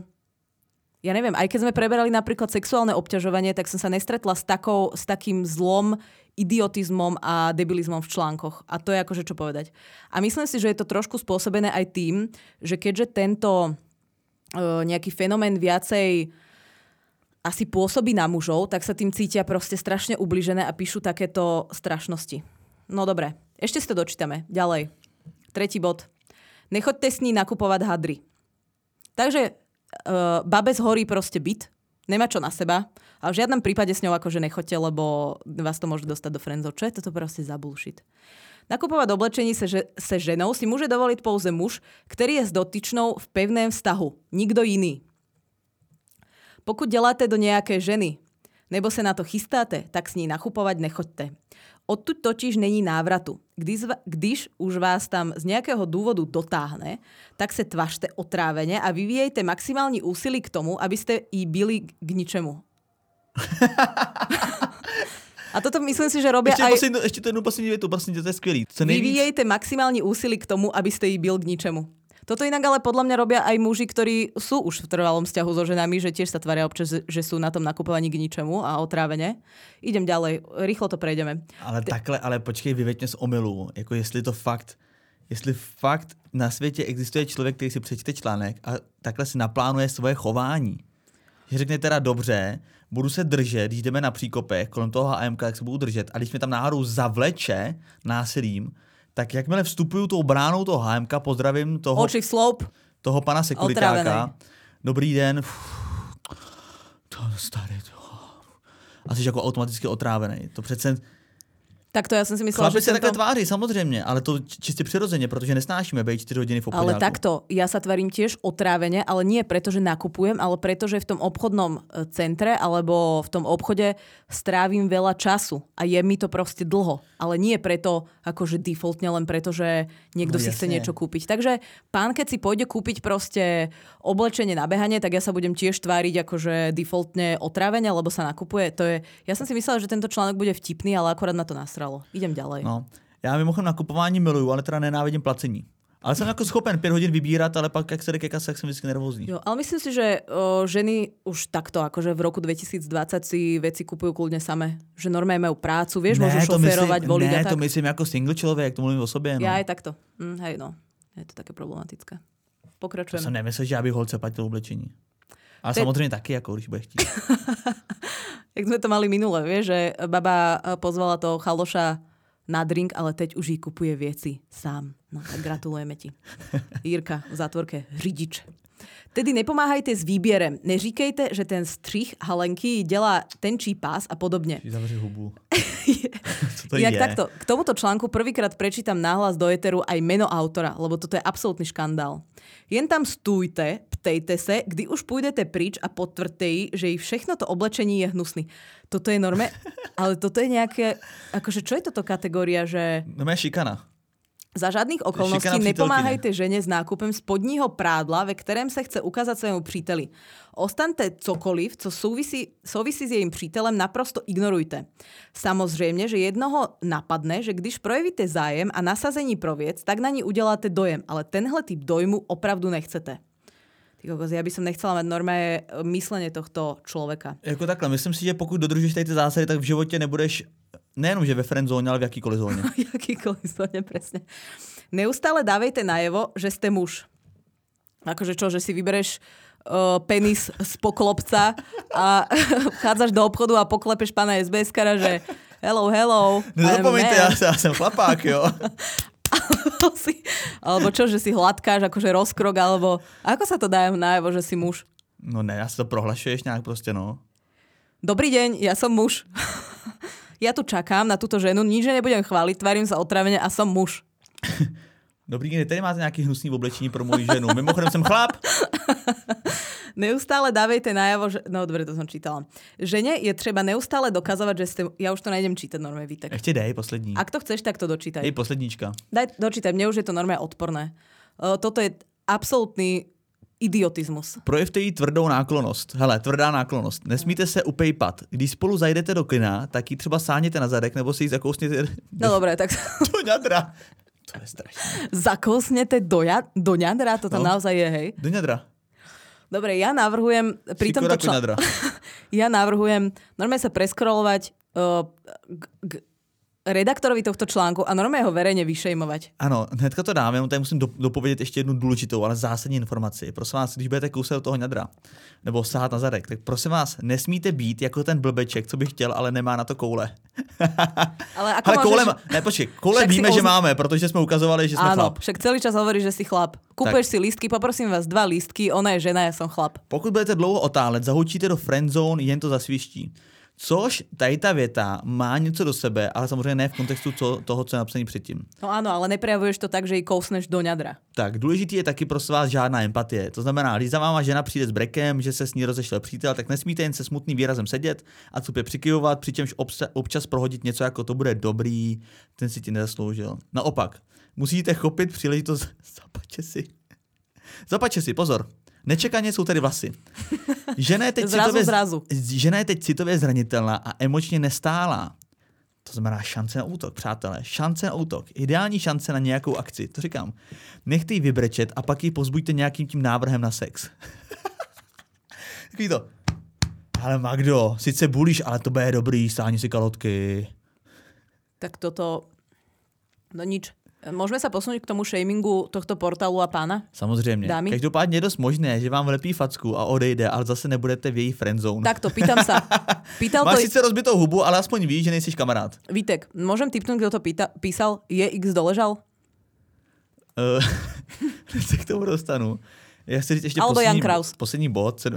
Ja neviem, aj keď sme preberali napríklad sexuálne obťažovanie, tak som sa nestretla s, takou, s takým zlom, idiotizmom a debilizmom v článkoch. A to je akože čo povedať. A myslím si, že je to trošku spôsobené aj tým, že keďže tento uh, nejaký fenomén viacej asi pôsobí na mužov, tak sa tým cítia proste strašne ubližené a píšu takéto strašnosti. No dobre, ešte si to dočítame. Ďalej. Tretí bod. Nechoďte s ní nakupovať hadry. Takže Uh, babe zhorí proste byt, nemá čo na seba, ale v žiadnom prípade s ňou akože nechoďte, lebo vás to môže dostať do friendzone. Čo je toto proste za bullshit? Nakupovať oblečení se, že, se ženou si môže dovoliť pouze muž, ktorý je s dotyčnou v pevném vztahu. Nikdo iný. Pokud děláte do nejaké ženy, nebo se na to chystáte, tak s ní nakupovať nechoďte. Odtud totiž není návratu. Když, když už vás tam z nejakého dôvodu dotáhne, tak se tvařte otrávene a vyvíjejte maximální úsilí k tomu, aby ste jí byli k ničemu. A toto myslím si, že robia ešte aj... Poslednú, ešte to jednu poslední větu, prosím, to je skvělý. Vyvíjejte maximální úsilí k tomu, aby ste jí byl k ničemu. Toto inak ale podľa mňa robia aj muži, ktorí sú už v trvalom vzťahu so ženami, že tiež sa tvária občas, že sú na tom nakupovaní k ničemu a otrávene. Idem ďalej, rýchlo to prejdeme. Ale Ty... takhle, ale počkej, vyveď mě z omylu. Jako jestli to fakt, jestli fakt na světě existuje člověk, který si přečte článek a takhle si naplánuje svoje chování. Že řekne teda dobře, budu se držet, když jdeme na příkopech kolem toho há emka, tak se budu držet. A když mě tam náhodou zavleče násilím, tak jakmile vstupuju tou bránou toho há emka, pozdravím toho, toho pana sekuritáka. Dobrý den. To starý. A jsi jako automaticky otrávený. To přece... Tak to ja som si myslela, Chlapi že sa tento... takhle tváří, samozrejme, ale to čiste prirodzene, pretože nesnášime bejť štyri hodiny v obchodiaku. Ale takto, ja sa tvarím tiež otrávene, ale nie preto, že nakupujem, ale preto, že v tom obchodnom centre alebo v tom obchode strávim veľa času a je mi to proste dlho. Ale nie preto, akože defaultne, len preto, že niekto no, si chce niečo kúpiť. Takže pán, keď si pôjde kúpiť proste oblečenie na behanie, tak ja sa budem tiež tváriť akože defaultne otrávene, lebo sa nakupuje. To je... Ja som si myslela, že tento článok bude vtipný, ale akorát na to nasral. Idem ďalej. No, já mimochodem nakupování miluju, ale teda nenávidím placení. Ale jsem jako schopen pět hodin vybírat, ale pak, jak se jde ke kase, tak jsem vždycky nervózní. Jo, ale myslím si, že o, ženy už takto, akože v roku dvetisícdvadsať si veci kupujú kľudne samé. Že normálne majú prácu, vieš, ne, môžu šoférovať, voliť ne, a tak. Ne, to myslím jako single člověk, to mluvím o sobě. No. Ja aj takto. Hm, hej, no. Je to také problematické. Pokračujeme. To jsem nemyslel, že já bych holce platil oblečení. Ale Te... samozřejmě taky, jako když bude chtít. Jak sme to mali minule, vieš, že baba pozvala toho chaloša na drink, ale teď už jí kupuje věci sám. No tak gratulujeme ti. Jirka v zátvorke řidič. Tedy nepomáhajte s výběrem. Neříkejte, že ten střih halenky dělá tenčí pás a podobně. Zavři hubu. Co to Inak je? takto, k tomuto článku prvýkrát prečítam náhlas do éteru aj meno autora, lebo toto je absolútny škandál. Jen tam stůjte, ptejte se, kdy už půjdete pryč a potvrďte jí, že jí všechno to oblečení je hnusný. Toto je norme, ale toto je nejaké, akože čo je toto kategória, že... No je šikana. Za žádných okolností nepomáhajte ženě s nákupem spodního prádla, ve kterém se chce ukázat svému příteli. Ostaňte cokoliv, co souvisí, souvisí s jejím přítelem, naprosto ignorujte. Samozřejmě, že jednoho napadne, že když projevíte zájem a nasazení pro věc, tak na ní uděláte dojem, ale tenhle typ dojmu opravdu nechcete. Ja by som nechcela mať normálne myslenie tohto človeka. Jako takhle, myslím si, že pokud dodržíš tady ty zásady, tak v životě nebudeš nejenom, že ve friendzóne, ale v jakýkoliv zóne. V jakýkoliv zóne, presne. Neustále dávejte najevo, že ste muž. Akože čo, že si vybereš uh, penis z poklopca a vchádzaš do obchodu a poklepeš pána es bé eskara, že hello, hello. Nezapomeňte, ja, ja som chlapák, jo. si, alebo čo, že si hladkáš, akože rozkrok, alebo ako sa to dá najavo, že si muž? No ne, ja si to prohlašuješ nejak proste, no. Dobrý deň, ja som muž. Ja tu čakám na túto ženu, nič nebudem chváliť, tvarím sa otravene a som muž. Dobrý deň, tady máte nejaký hnusný oblečení pro moju ženu. Mimochodem som chlap. Neustále dávejte najavo, že... No dobre, to som čítala. Žene je treba neustále dokazovať, že ste... Ja už to nejdem čítať, normálne Vítek. Ešte dej, poslední. Ak to chceš, tak to dočítaj. Dej posledníčka. Daj, dočítaj, mne už je to normálne odporné. Uh, toto je absolútny idiotismus. Projevte jí tvrdou náklonost. Hele, tvrdá náklonost. Nesmíte se upejpat. Když spolu zajdete do kina, tak ji třeba sáhněte na zadek, nebo si ji zakousněte... No dobré, tak... Do ňadra. To je strašné. Zakousnete do, ja... do ňadra? To tam no. naozaj je, hej? Do ňadra. Dobre, ja navrhujem... Pri tomto čl... ja navrhujem normálne sa preskrolovať uh, k, k redaktorovi tohto článku a normálne ho verejne vyšejmovať. Ano, hnedka to dáme, jenom tady musím do, dopovědět ještě jednu důležitou, ale zásadní informaci. Prosím vás, když budete kousat do toho ňadra, nebo sahat na zadek, tak prosím vás, nesmíte být jako ten blbeček, co by chtěl, ale nemá na to koule. Ale ako ale môžeš... koule, ne, počkej, koule víme, oz... že máme, protože jsme ukazovali, že jsme Áno, chlap. však celý čas hovoríš, že si chlap. Kúpuješ si lístky, poprosím vás dva lístky, ona je žena, ja som chlap. Pokud budete dlouho otálet, zahučíte do friendzone, jen to zasviští. Což tady ta věta má něco do sebe, ale samozřejmě ne v kontextu co, toho, co je napsaný předtím. No áno, ale neprejavuješ to tak, že ji kousneš do ňadra. Tak, důležitý je taky prosím vás žádná empatie. To znamená, když za váma žena přijde s brekem, že se s ní rozešel přítel, tak nesmíte jen se smutným výrazem sedět a tupě přikyvovat, přičemž obsa, občas prohodit něco jako to bude dobrý, ten si ti nezasloužil. Naopak, musíte chopit příležitost, zapače si. Zapače si, pozor. Nečekaně jsou tady vlasy. Žena je teď, zrazu, citově, zrazu. žena je teď citově zranitelná a emočně nestálá. To znamená šance na útok, přátelé. Šance na útok. Ideální šance na nějakou akci. To říkám. Nechte ji vybrečet a pak ji pozbuďte nějakým tím návrhem na sex. Takový to. Ale Magdo, sice bulíš, ale to bude dobrý, stáhni si kalotky. Tak toto... No nič. Môžeme sa posunúť k tomu shamingu tohto portálu a pána? Samozřejmě. Dámy? Každopádně je dost možné, že vám vlepí facku a odejde, ale zase nebudete v její friendzone. Takto, pýtam sa. Pýtal Máš to... sice rozbitou hubu, ale aspoň víš, že nejsi kamarád. Vítek, môžem tipnúť, kto to pýta, písal? Je X doležal? Uh, se k tomu dostanu. Já chci říct ještě Albo poslední, Jan Kraus. poslední bod. Sedm...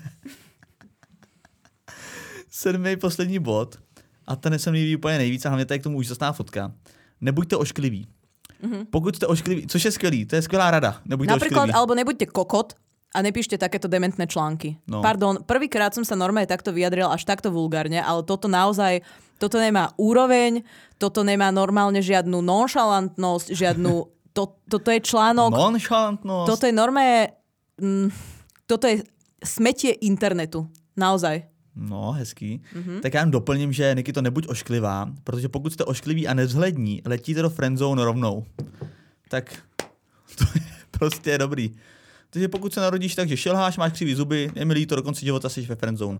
Sedmý poslední bod. A ten se mi líbí úplně nejvíc a hlavně tady k tomu úžasná fotka. Nebuďte oškliví. Mm-hmm. Pokud jste oškliví, což je skvělý, to je skvělá rada. Nebuďte Napríklad, oškliví. alebo nebuďte kokot a nepíšte takéto dementné články. No. Pardon, prvýkrát som sa normálne takto vyjadril až takto vulgárne, ale toto naozaj, toto nemá úroveň, toto nemá normálne žiadnu nonšalantnosť, žiadnu, to, toto je článok... Nonšalantnosť. Toto je normálne, mm, toto je smetie internetu. Naozaj. No, hezký. Mm-hmm. Tak já jen doplním, že Niky to nebuď ošklivá, protože pokud jste oškliví a nevzhlední, letíte do friendzone rovnou. Tak to je prostě dobrý. Takže pokud se narodíš tak, že šilháš, máš křivý zuby, je mi líto, do konce života jsi ve friendzone.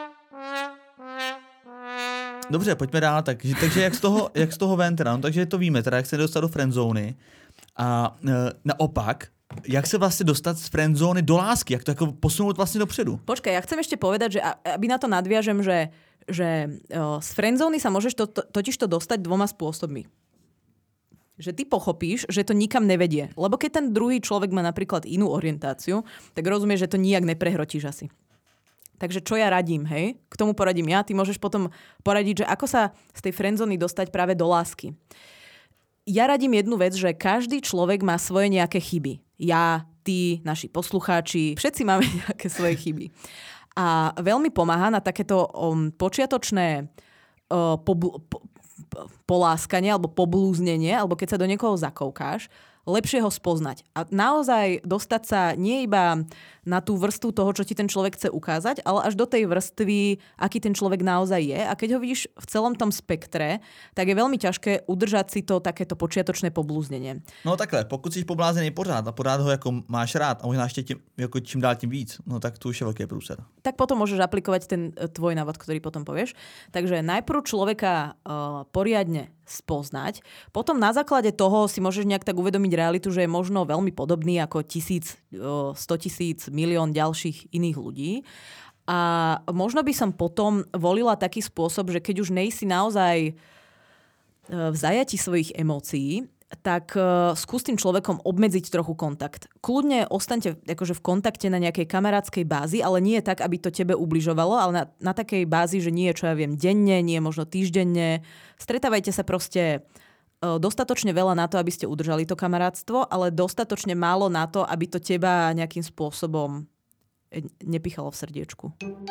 Dobře, pojďme dál. Takže, takže jak, z toho, jak z toho ven teda? No, takže to víme, teda jak se dostat do friendzony. A e, naopak, jak se vlastně dostat z friendzóny do lásky? Jak to jako posunout vlastně dopředu? Počkaj, ja chcem ešte povedať, že aby na to nadviažem, že, že o, z friendzóny sa môžeš to, to, totiž to dostať dvoma spôsobmi. Že ty pochopíš, že to nikam nevedie. Lebo keď ten druhý človek má napríklad inú orientáciu, tak rozumieš, že to nijak neprehrotíš asi. Takže čo ja radím, hej? K tomu poradím ja. Ty môžeš potom poradiť, že ako sa z tej friendzóny dostať práve do lásky. Ja radím jednu vec, že každý človek má svoje nejaké chyby. Ja, ty, naši poslucháči, všetci máme nejaké svoje chyby. A veľmi pomáha na takéto um, počiatočné uh, pobl- po, po, poláskanie alebo poblúznenie, alebo keď sa do niekoho zakoukáš, lepšie ho spoznať. A naozaj dostať sa nie iba na tú vrstvu toho, čo ti ten človek chce ukázať, ale až do tej vrstvy, aký ten človek naozaj je. A keď ho vidíš v celom tom spektre, tak je veľmi ťažké udržať si to takéto počiatočné poblúznenie. No takhle, pokud jsi poblázený pořád a pořád ho jako máš rád a možná ještě tím, jako čím dál tím víc, no tak to už je velký průser. Tak potom môžeš aplikovať ten tvoj návod, ktorý potom povieš. Takže najprv človeka uh, poriadne spoznať. Potom na základe toho si môžeš nejak tak uvedomiť realitu, že je možno veľmi podobný ako tisíc, sto tisíc, milión ďalších iných ľudí. A možno by som potom volila taký spôsob, že keď už nejsi naozaj v zajati svojich emócií, tak uh, skús tým človekom obmedziť trochu kontakt. Kľudne ostaňte akože v kontakte na nejakej kamarátskej bázi, ale nie tak, aby to tebe ubližovalo, ale na, na takej bázi, že nie, čo ja viem, denne, nie možno týždenne. Stretávajte sa proste uh, dostatočne veľa na to, aby ste udržali to kamarátstvo, ale dostatočne málo na to, aby to teba nejakým spôsobom nepichalo v srdiečku.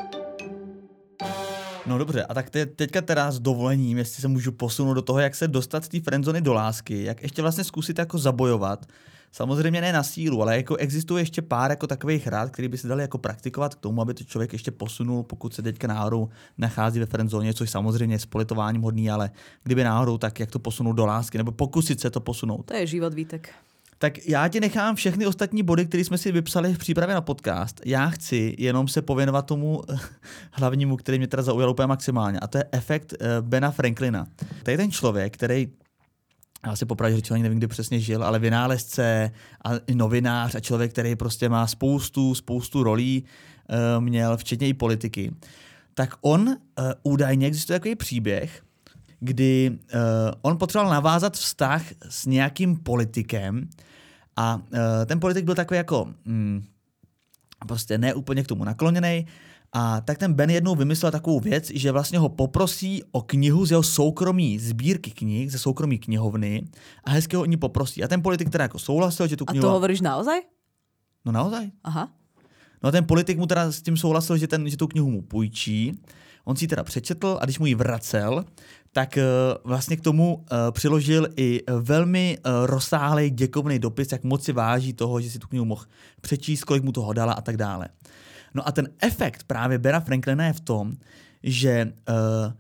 No dobře, a tak te, teďka teda s dovolením, jestli se můžu posunout do toho, jak se dostat z té friendzony do lásky, jak ještě vlastně zkusit jako zabojovat. Samozřejmě ne na sílu, ale jako existuje ještě pár jako takových rád, který by se dali jako praktikovat k tomu, aby to člověk ještě posunul, pokud se teďka náhodou nachází ve friendzóně, což samozřejmě je s politováním hodný, ale kdyby náhodou, tak jak to posunout do lásky, nebo pokusit se to posunout. To je život, Vítek. Tak já ti nechám všechny ostatní body, které jsme si vypsali v přípravě na podcast. Já chci jenom se pověnovat tomu hlavnímu, který mě teda zaujal úplně maximálně, a to je efekt Bena Franklina. To je ten člověk, který, já si popravdě řečeno, nevím, kdy přesně žil, ale vynálezce a novinář a člověk, který prostě má spoustu, spoustu rolí, měl včetně i politiky. Tak on údajně existuje takový příběh, kdy uh, on potřeboval navázat vztah s nějakým politikem a uh, ten politik byl takový jako mm, prostě ne úplně k tomu nakloněný, a tak ten Ben jednou vymyslel takovou věc, že vlastně ho poprosí o knihu z jeho soukromí sbírky knih, ze soukromí knihovny, a hezky ho o ní poprosí. A ten politik teda jako souhlasil, že tu knihu... A to hovoríš naozaj? No naozaj. Aha. No a ten politik mu teda s tím souhlasil, že, ten, že tu knihu mu půjčí. On si ji teda přečetl a když mu ji vracel, tak uh, vlastně k tomu uh, přiložil i velmi uh, rozsáhlý děkovný dopis, jak moc si váží toho, že si tu knihu mohl přečíst, kolik mu toho dala a tak dále. No a ten efekt právě Bena Franklina je v tom, že uh,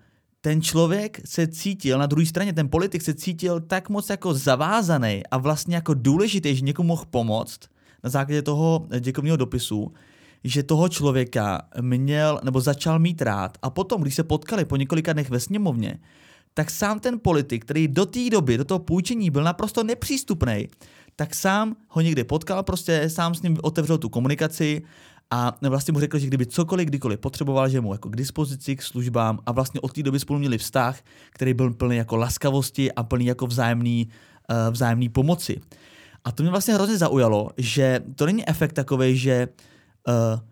ten člověk se cítil, na druhé straně ten politik se cítil tak moc jako zavázaný a vlastně jako důležitý, že někomu mohl pomoct na základě toho děkovního dopisu, že toho člověka měl nebo začal mít rád a potom, když se potkali po několika dnech ve sněmovně, tak sám ten politik, který do té doby, do toho půjčení byl naprosto nepřístupný, tak sám ho někde potkal, prostě sám s ním otevřel tu komunikaci a vlastně mu řekl, že kdyby cokoliv, kdykoliv potřeboval, že mu jako k dispozici, k službám a vlastně od té doby spolu měli vztah, který byl plný jako laskavosti a plný jako vzájemný, uh, vzájemný pomoci. A to mě vlastně hrozně zaujalo, že to není efekt takovej, že uh,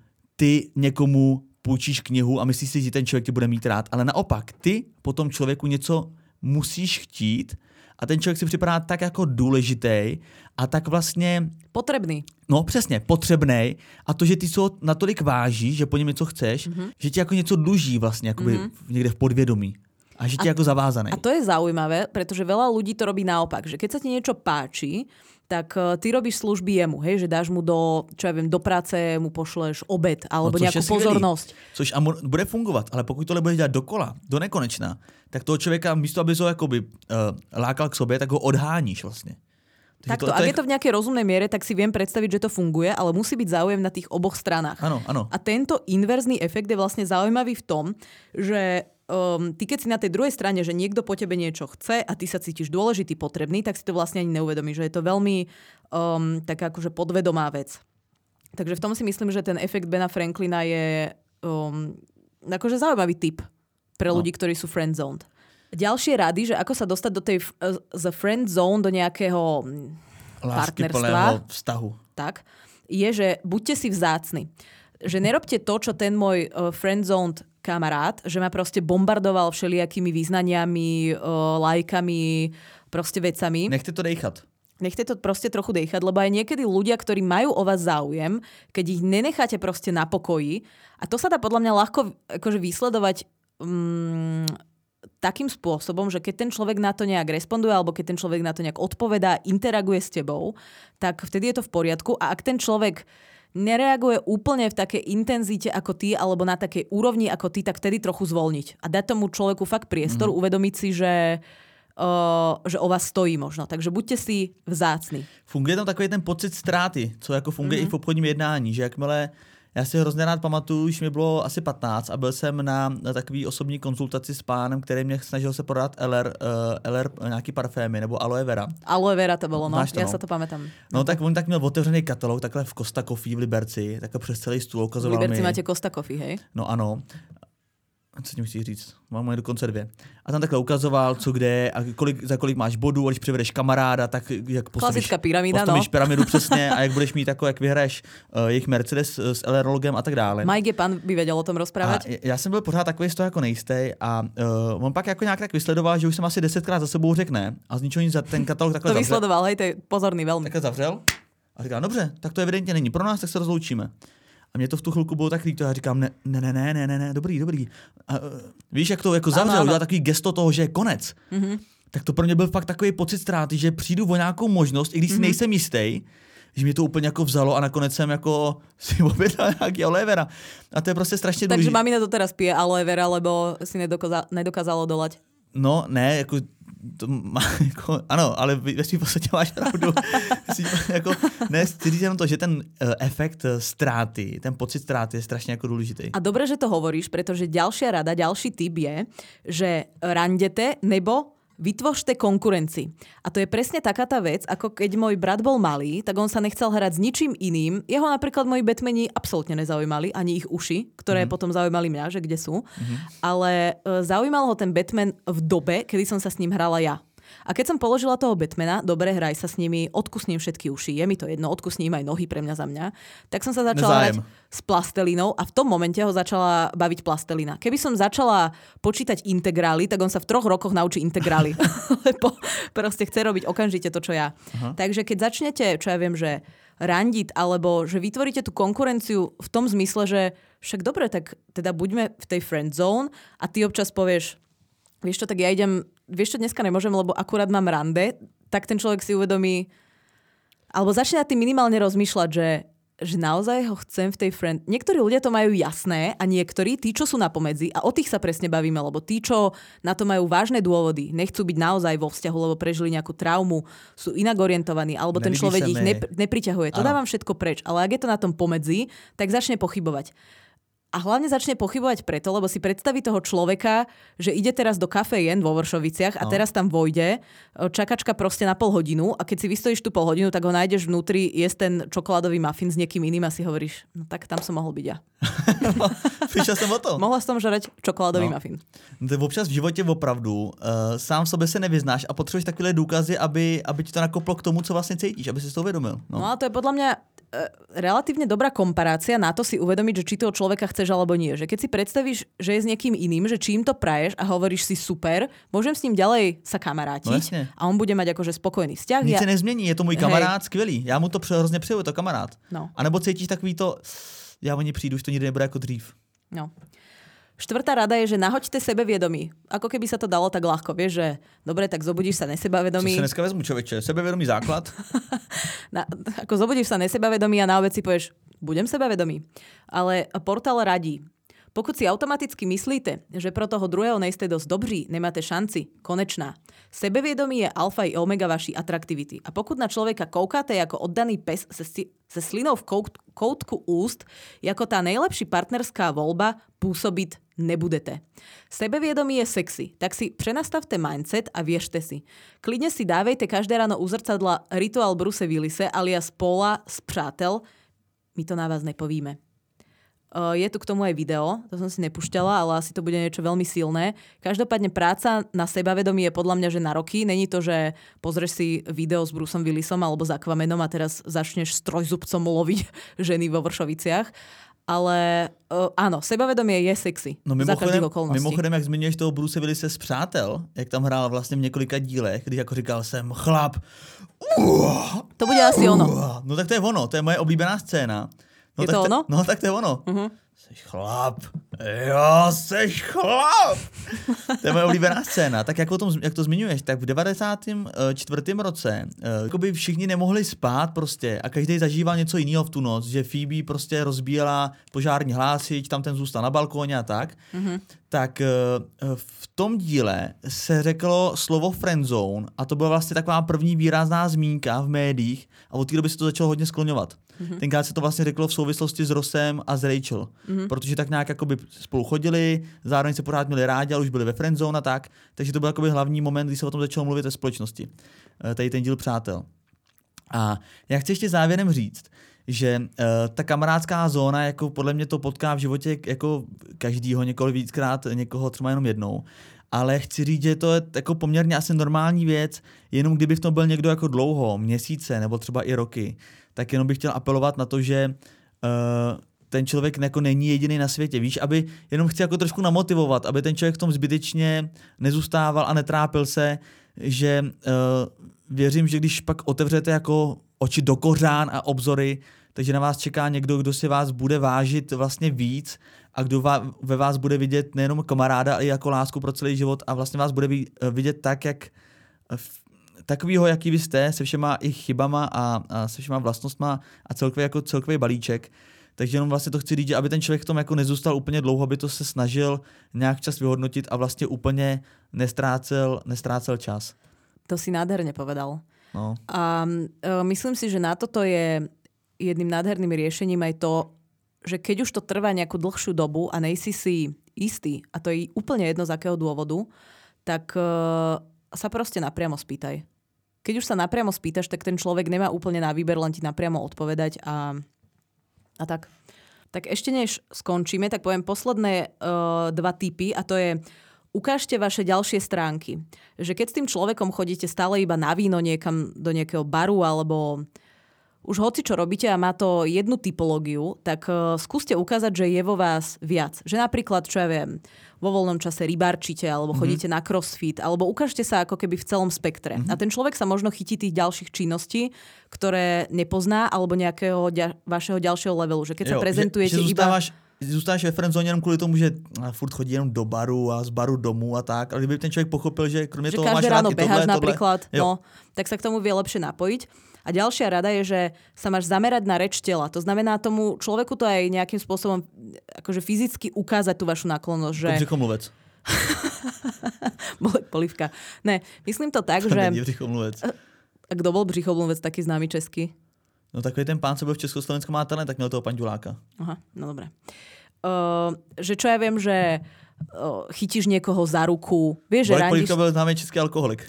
ty někomu půjčíš knihu a myslíš si, že ten člověk tě bude mít rád, ale naopak, ty po tom člověku něco musíš chtít a ten člověk si připadá tak jako důležitý a tak vlastně... Potrebný. No přesně, potřebnej a to, že ty se ho natolik vážíš, že po něm něco chceš, mm-hmm. že ti jako něco dluží vlastně jakoby mm-hmm. někde v podvědomí. A že ti jako zavázaný. A to je zaujímavé, pretože veľa ľudí to robí naopak, že keď sa ti niečo páči, tak ty robíš služby jemu, hej, že dáš mu do, čo ja viem, do práce mu pošleš obed alebo no, nejakú pozornosť. Což a bude fungovat, ale pokud tohle budeš dělat dokola, do nekonečna, tak toho člověka místo, aby ho jakoby uh, lákal k sobě, tak ho odháníš vlastně. Takto, to, to ak je... je to v nejakej rozumnej miere, tak si viem predstaviť, že to funguje, ale musí byť záujem na tých oboch stranách. Áno, áno. A tento inverzný efekt je vlastne zaujímavý v tom, že um, ty keď si na tej druhej strane, že niekto po tebe niečo chce a ty sa cítiš dôležitý, potrebný, tak si to vlastne ani neuvedomíš, že je to veľmi um, taká akože podvedomá vec. Takže v tom si myslím, že ten efekt Bena Franklina je um, akože zaujímavý tip pre ľudí, no. ktorí sú friendzoned. Ďalšie rady, že ako sa dostať do tej z friend zone do nejakého partnerstva, vztahu. Tak, je, že buďte si vzácni. Že nerobte to, čo ten môj uh, friend zone kamarát, že ma proste bombardoval všelijakými význaniami, uh, lajkami, proste vecami. Nechte to dejchat. Nechte to proste trochu dejchať, lebo aj niekedy ľudia, ktorí majú o vás záujem, keď ich nenecháte proste na pokoji, a to sa dá podľa mňa ľahko akože vysledovať um, takým spôsobom, že keď ten človek na to nejak responduje alebo keď ten človek na to nejak odpovedá, interaguje s tebou, tak vtedy je to v poriadku. A ak ten človek nereaguje úplne v takej intenzite ako ty alebo na takej úrovni ako ty, tak vtedy trochu zvolniť. A dať tomu človeku fakt priestor, mm. uvedomiť si, že, uh, že o vás stojí možno. Takže buďte si vzácni. Funguje tam takový ten pocit ztráty, co jako funguje mm. i v obchodním jednání, že jakmile já si hrozně rád pamatuju, už mi bylo asi patnáct a byl jsem na, na takový osobní konzultaci s pánem, který mě snažil se prodat L R, uh, L R nějaký parfémy nebo aloe vera. Aloe vera to bylo, no, to, já no. se to pamätám. No tak on tak měl otevřený katalog, takhle v Costa Coffee v Liberci, takhle přes celý stůl ukazoval mi. V Liberci mi... máte Costa Coffee, hej? No ano. Co tím chci říct? Mám je dokonce dvě. A tam takhle ukazoval, co kde a kolik, za kolik máš bodů, a když přivedeš kamaráda, tak jak postavíš, klasická pyramída, postavíš no. pyramidu přesně a jak budeš mít jako, jak vyhraješ uh, jejich Mercedes s L R logem a tak dále. Mike pan by věděl o tom rozprávat. Já jsem byl pořád takový z toho jako nejistý a uh, on pak jako nějak tak vysledoval, že už jsem asi desetkrát za sebou řekne a z ničeho nic za ten katalog takhle to zavřel. vysledoval, hej, to je pozorný velmi. Takhle zavřel a říkal, dobře, tak to evidentně není pro nás, tak se rozloučíme. A mě to v tu chvilku bylo tak líto, já říkám, ne, ne, ne, ne, ne, ne, dobrý, dobrý. A, uh, víš, jak to jako zavřel, udělal takový gesto toho, že je konec. Mm-hmm. Tak to pro mě byl fakt takový pocit ztráty, že přijdu o nějakou možnost, i když si mm-hmm. nejsem jistý, že mě to úplně jako vzalo a nakonec jsem jako si objednal nějaký aloe vera. A to je prostě strašně důležité. Takže mamina to teraz pije aloe vera, lebo si nedokázalo, nedokázalo dolať. No, ne, jako, to má, jako ano, ale ve svým podstatě máš pravdu. jako, ne, chci říct jenom to, že ten uh, efekt uh, ztráty, ten pocit ztráty je strašně jako důležitý. A dobre, že to hovoríš, pretože ďalšia rada, ďalší tip je, že randete nebo vytvořte konkurencii. A to je presne taká tá vec, ako keď môj brat bol malý, tak on sa nechcel hrať s ničím iným. Jeho napríklad moji Batmani absolútne nezaujímali, ani ich uši, ktoré mm. potom zaujímali mňa, že kde sú. Mm-hmm. Ale e, zaujímal ho ten Batman v dobe, kedy som sa s ním hrala ja. A keď som položila toho Batmana, dobre, hraj sa s nimi, odkusním všetky uši, je mi to jedno, odkusním aj nohy pre mňa za mňa, tak som sa začala Nezájem. hrať s plastelínou a v tom momente ho začala baviť plastelína. Keby som začala počítať integrály, tak on sa v troch rokoch naučí integrály. Lebo proste chce robiť okamžite to, čo ja. Aha. Takže keď začnete, čo ja viem, že randiť, alebo že vytvoríte tú konkurenciu v tom zmysle, že však dobre, tak teda buďme v tej friend zone a ty občas povieš, vieš čo, tak ja idem, vieš čo, dneska nemôžem, lebo akurát mám rande, tak ten človek si uvedomí, alebo začne na tým minimálne rozmýšľať, že, že naozaj ho chcem v tej friend... Niektorí ľudia to majú jasné a niektorí, tí, čo sú na pomedzi, a o tých sa presne bavíme, lebo tí, čo na to majú vážne dôvody, nechcú byť naozaj vo vzťahu, lebo prežili nejakú traumu, sú inak orientovaní, alebo ten človek ich nepr- nepriťahuje. To dávam všetko preč. Ale ak je to na tom pomedzi, tak začne pochybovať. A hlavne začne pochybovať preto, lebo si predstaví toho človeka, že ide teraz do kafejen vo Vršoviciach a no. teraz tam vojde, čakačka proste na pol hodinu a keď si vystojíš tú pol hodinu, tak ho nájdeš vnútri, jesť ten čokoládový muffin s niekým iným a si hovoríš, no tak tam som mohol byť ja. No, přišel jsem o to. Mohla som žrať čokoládový no. muffin. No, občas v životě opravdu uh, sám v sobě se nevyznáš a potřebuješ takové důkazy, aby, aby ti to nakoplo k tomu, co vlastně cítíš, aby si to uvědomil. No. no a to je podľa mňa relatívne dobrá komparácia na to si uvedomiť, že či toho človeka chceš alebo nie. Že keď si predstavíš, že je s niekým iným, že čím to praješ a hovoríš si super, môžem s ním ďalej sa kamarátiť no, a on bude mať akože spokojný vzťah. Nic ja... se nezmění, je to můj kamarád, hej. Skvělý. Já mu to hrozně přeju, je to kamarád. No. A nebo cítíš takový to, já o ní přijdu, už to nikdy nebude jako dřív. No. Štvrtá rada je, že nahoďte sebevědomí. Ako keby sa to dalo tak ľahko. Vieš, že dobre, tak zobudíš sa nesebavedomí. Co se dneska vezmu, človeče? Sebevědomý základ? na, ako zobudíš sa nesebavedomí a na obed si povieš, budem sebavedomý. Ale portál radí. Pokud si automaticky myslíte, že pro toho druhého nejste dosť dobří, nemáte šanci, konečná. Sebevědomí je alfa i omega vaší atraktivity. A pokud na človeka koukáte jako oddaný pes se, se slinou v kout, koutku úst, jako tá najlepší partnerská voľba, pôsobiť nebudete. Sebevědomí je sexy, tak si prenastavte mindset a viešte si. Klidne si dávejte každé ráno u zrcadla rituál Bruce Willise alias Paula z Přátel. My to na vás nepovíme. Je tu k tomu aj video, to som si nepúšťala, ale asi to bude niečo veľmi silné. Každopádne práca na sebavedomí je podľa mňa, že na roky. Není to, že pozrieš si video s Bruceom Willisom alebo s Aquamanom a teraz začneš s trojzubcom loviť ženy vo Vršoviciach. Ale uh, áno, sebavedomie je sexy. No za každých okolností. Mimochodem, jak zmiňuješ toho Bruce Willise z Přátel, jak tam hrál vlastně v několika dílech, když jako říkal jsem chlap. Uh, to bude asi uh, ono. No tak to je ono, to je moje oblíbená scéna. No, je tak to ono? Te, no tak to je ono. Uh-huh. Seš chlap. Jo, seš chlap. To je moje oblíbená scéna. Tak jak, o tom, jak to zmiňuješ, tak v devadesátém čtvrtém roce jakoby všichni nemohli spát prostě a každý zažíval něco jiného v tu noc, že Phoebe prostě rozbíjela požární hlásič, tam ten zůstal na balkóně a tak. Uh-huh. Tak v tom díle se řeklo slovo friendzone a to byla vlastně taková první výrazná zmínka v médiích a od té doby se to začalo hodně skloňovat. Mm-hmm. Tenkrát se to vlastně řeklo v souvislosti s Rossem a s Rachel, mm-hmm. protože tak nějak jakoby spolu chodili, zároveň se pořád měli rádi, ale už byli ve friendzone a tak, takže to byl jakoby hlavní moment, kdy se o tom začalo mluvit ve společnosti. Tady ten díl Přátel. A já chci ještě závěrem říct, že uh, ta kamarádská zóna, jako podle mě to potká v životě jako každýho, někoho víckrát, někoho třeba jenom jednou. Ale chci říct, že to je jako poměrně asi normální věc, jenom kdyby v tom byl někdo jako dlouho, měsíce nebo třeba i roky, tak jenom bych chtěl apelovat na to, že uh, ten člověk jako není jediný na světě, víš, aby jenom chci jako trošku namotivovat, aby ten člověk v tom zbytečně nezůstával a netrápil se, že uh, věřím, že když pak otevřete jako oči do kořán a obzory, takže na vás čeká někdo, kdo si vás bude vážit vlastně víc a kdo ve vás bude vidět nejenom kamaráda, ale i jako lásku pro celý život a vlastně vás bude vidět tak, jak takovýho, jaký vy jste, se všema i chybama a, a se všema vlastnostma a celkově jako celkový balíček. Takže jenom vlastně to chci říct, že aby ten člověk v tom jako nezůstal úplně dlouho, aby to se snažil nějak čas vyhodnotit a vlastně úplně nestrácel, nestrácel čas. To si nádherne povedal. No. A uh, myslím si, že na toto je jedným nádherným riešením aj to, že keď už to trvá nejakú dlhšiu dobu a nejsi si istý, a to je úplne jedno z akého dôvodu, tak uh, sa proste napriamo spýtaj. Keď už sa napriamo spýtaš, tak ten človek nemá úplne na výber, len ti napriamo odpovedať a, a tak. Tak ešte než skončíme, tak poviem posledné uh, dva tipy a to je ukážte vaše ďalšie stránky. Že keď s tým človekom chodíte stále iba na víno niekam do nejakého baru alebo už hoci čo robíte a má to jednu typológiu, tak uh, skúste ukázať, že je vo vás viac. Že napríklad, čo ja viem, vo voľnom čase rybárčite alebo chodíte mm-hmm. na crossfit alebo ukážte sa ako keby v celom spektre. Mm-hmm. A ten človek sa možno chytí tých ďalších činností, ktoré nepozná alebo nejakého ďa- vašeho ďalšieho levelu. Že keď jo, sa prezentujete že, že iba... Zůstáváš ve friendzone jenom kvůli tomu, že furt chodí jenom do baru a z baru domů a tak, ale kdyby ten člověk pochopil, že kromě že toho máš rád i tohle, každé ráno beháš tohle, napríklad, jo. no, tak sa k tomu vie lepšie napojiť. A ďalšia rada je, že sa máš zamerať na reč tela. To znamená tomu človeku to aj nejakým spôsobom akože fyzicky ukázať tú vašu náklonnosť. Že... Břichomluvec. Bolek polivka. Ne, myslím to tak, to že... není břichomluvec. A kdo bol břichomluvec, taký známy český? No takový ten pán, co byl v Československu má talent, tak měl toho panďuláka. Aha, no dobré. Uh, že čo ja viem, že uh, chytíš niekoho za ruku. Vieš, že Bolek randíš... polivka byl známý český alkoholik.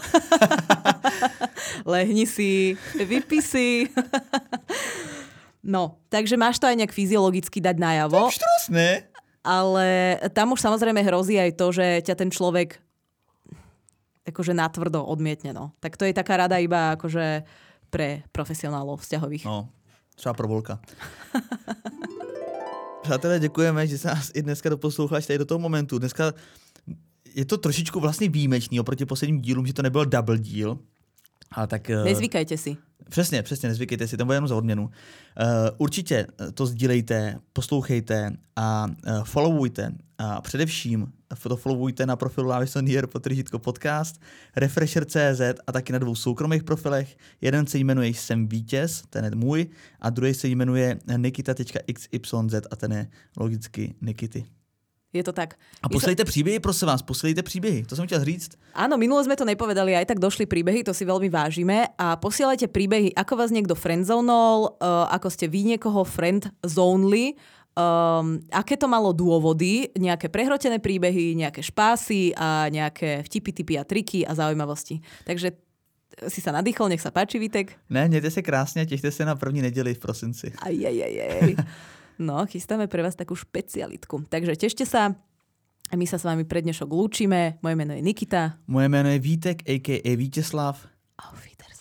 Lehni si, vypí si. No, takže máš to aj nejak fyziologicky dať najavo. To je štrosné. Ale tam už samozrejme hrozí aj to, že ťa ten človek akože natvrdo odmietne. No. Tak to je taká rada iba akože pre profesionálov vzťahových. No, třeba pro Volka. Přátelé, děkujeme, že se nás i dneska doposloucháš tady do toho momentu. Dneska je to trošičku vlastně výjimečný oproti posledním dílům, že to nebyl double díl. Ale tak... Nezvykajte si. Přesně, přesně, nezvykejte si, to bude jenom za odměnu. Uh, určitě to sdílejte, poslouchejte a uh, followujte. A především to followujte na profilu Lávison.jr potržítko podcast, Refresher tečka cé zet a taky na dvou soukromých profilech. Jeden se jmenuje Jsem vítěz, ten je můj, a druhý se jmenuje nikita tečka iks ypsilon zet a ten je logicky Nikity. Je to tak. A posílejte příběhy, prosím vás, posílejte příběhy, to jsem chtěl říct. Áno, minulo sme to nepovedali, aj tak došli príbehy, to si veľmi vážime. A posielajte príbehy, ako vás niekto friendzonol, uh, ako ste vy niekoho friendzonli, um, aké to malo dôvody, nejaké prehrotené príbehy, nejaké špásy a nejaké vtipy, tipy a triky a zaujímavosti. Takže si sa nadýchol, nech sa páči, Vítek. Ne, mějte se krásně, těšte se na první neděli v prosinci. Aj, aj, aj, aj. No, chystáme pre vás takú špecialitku. Takže tešte sa. A my sa s vami pre dnešok lúčime. Moje meno je Nikita. Moje jméno je Vítek, a ká a. Vítězslav. Auf Wiedersehen.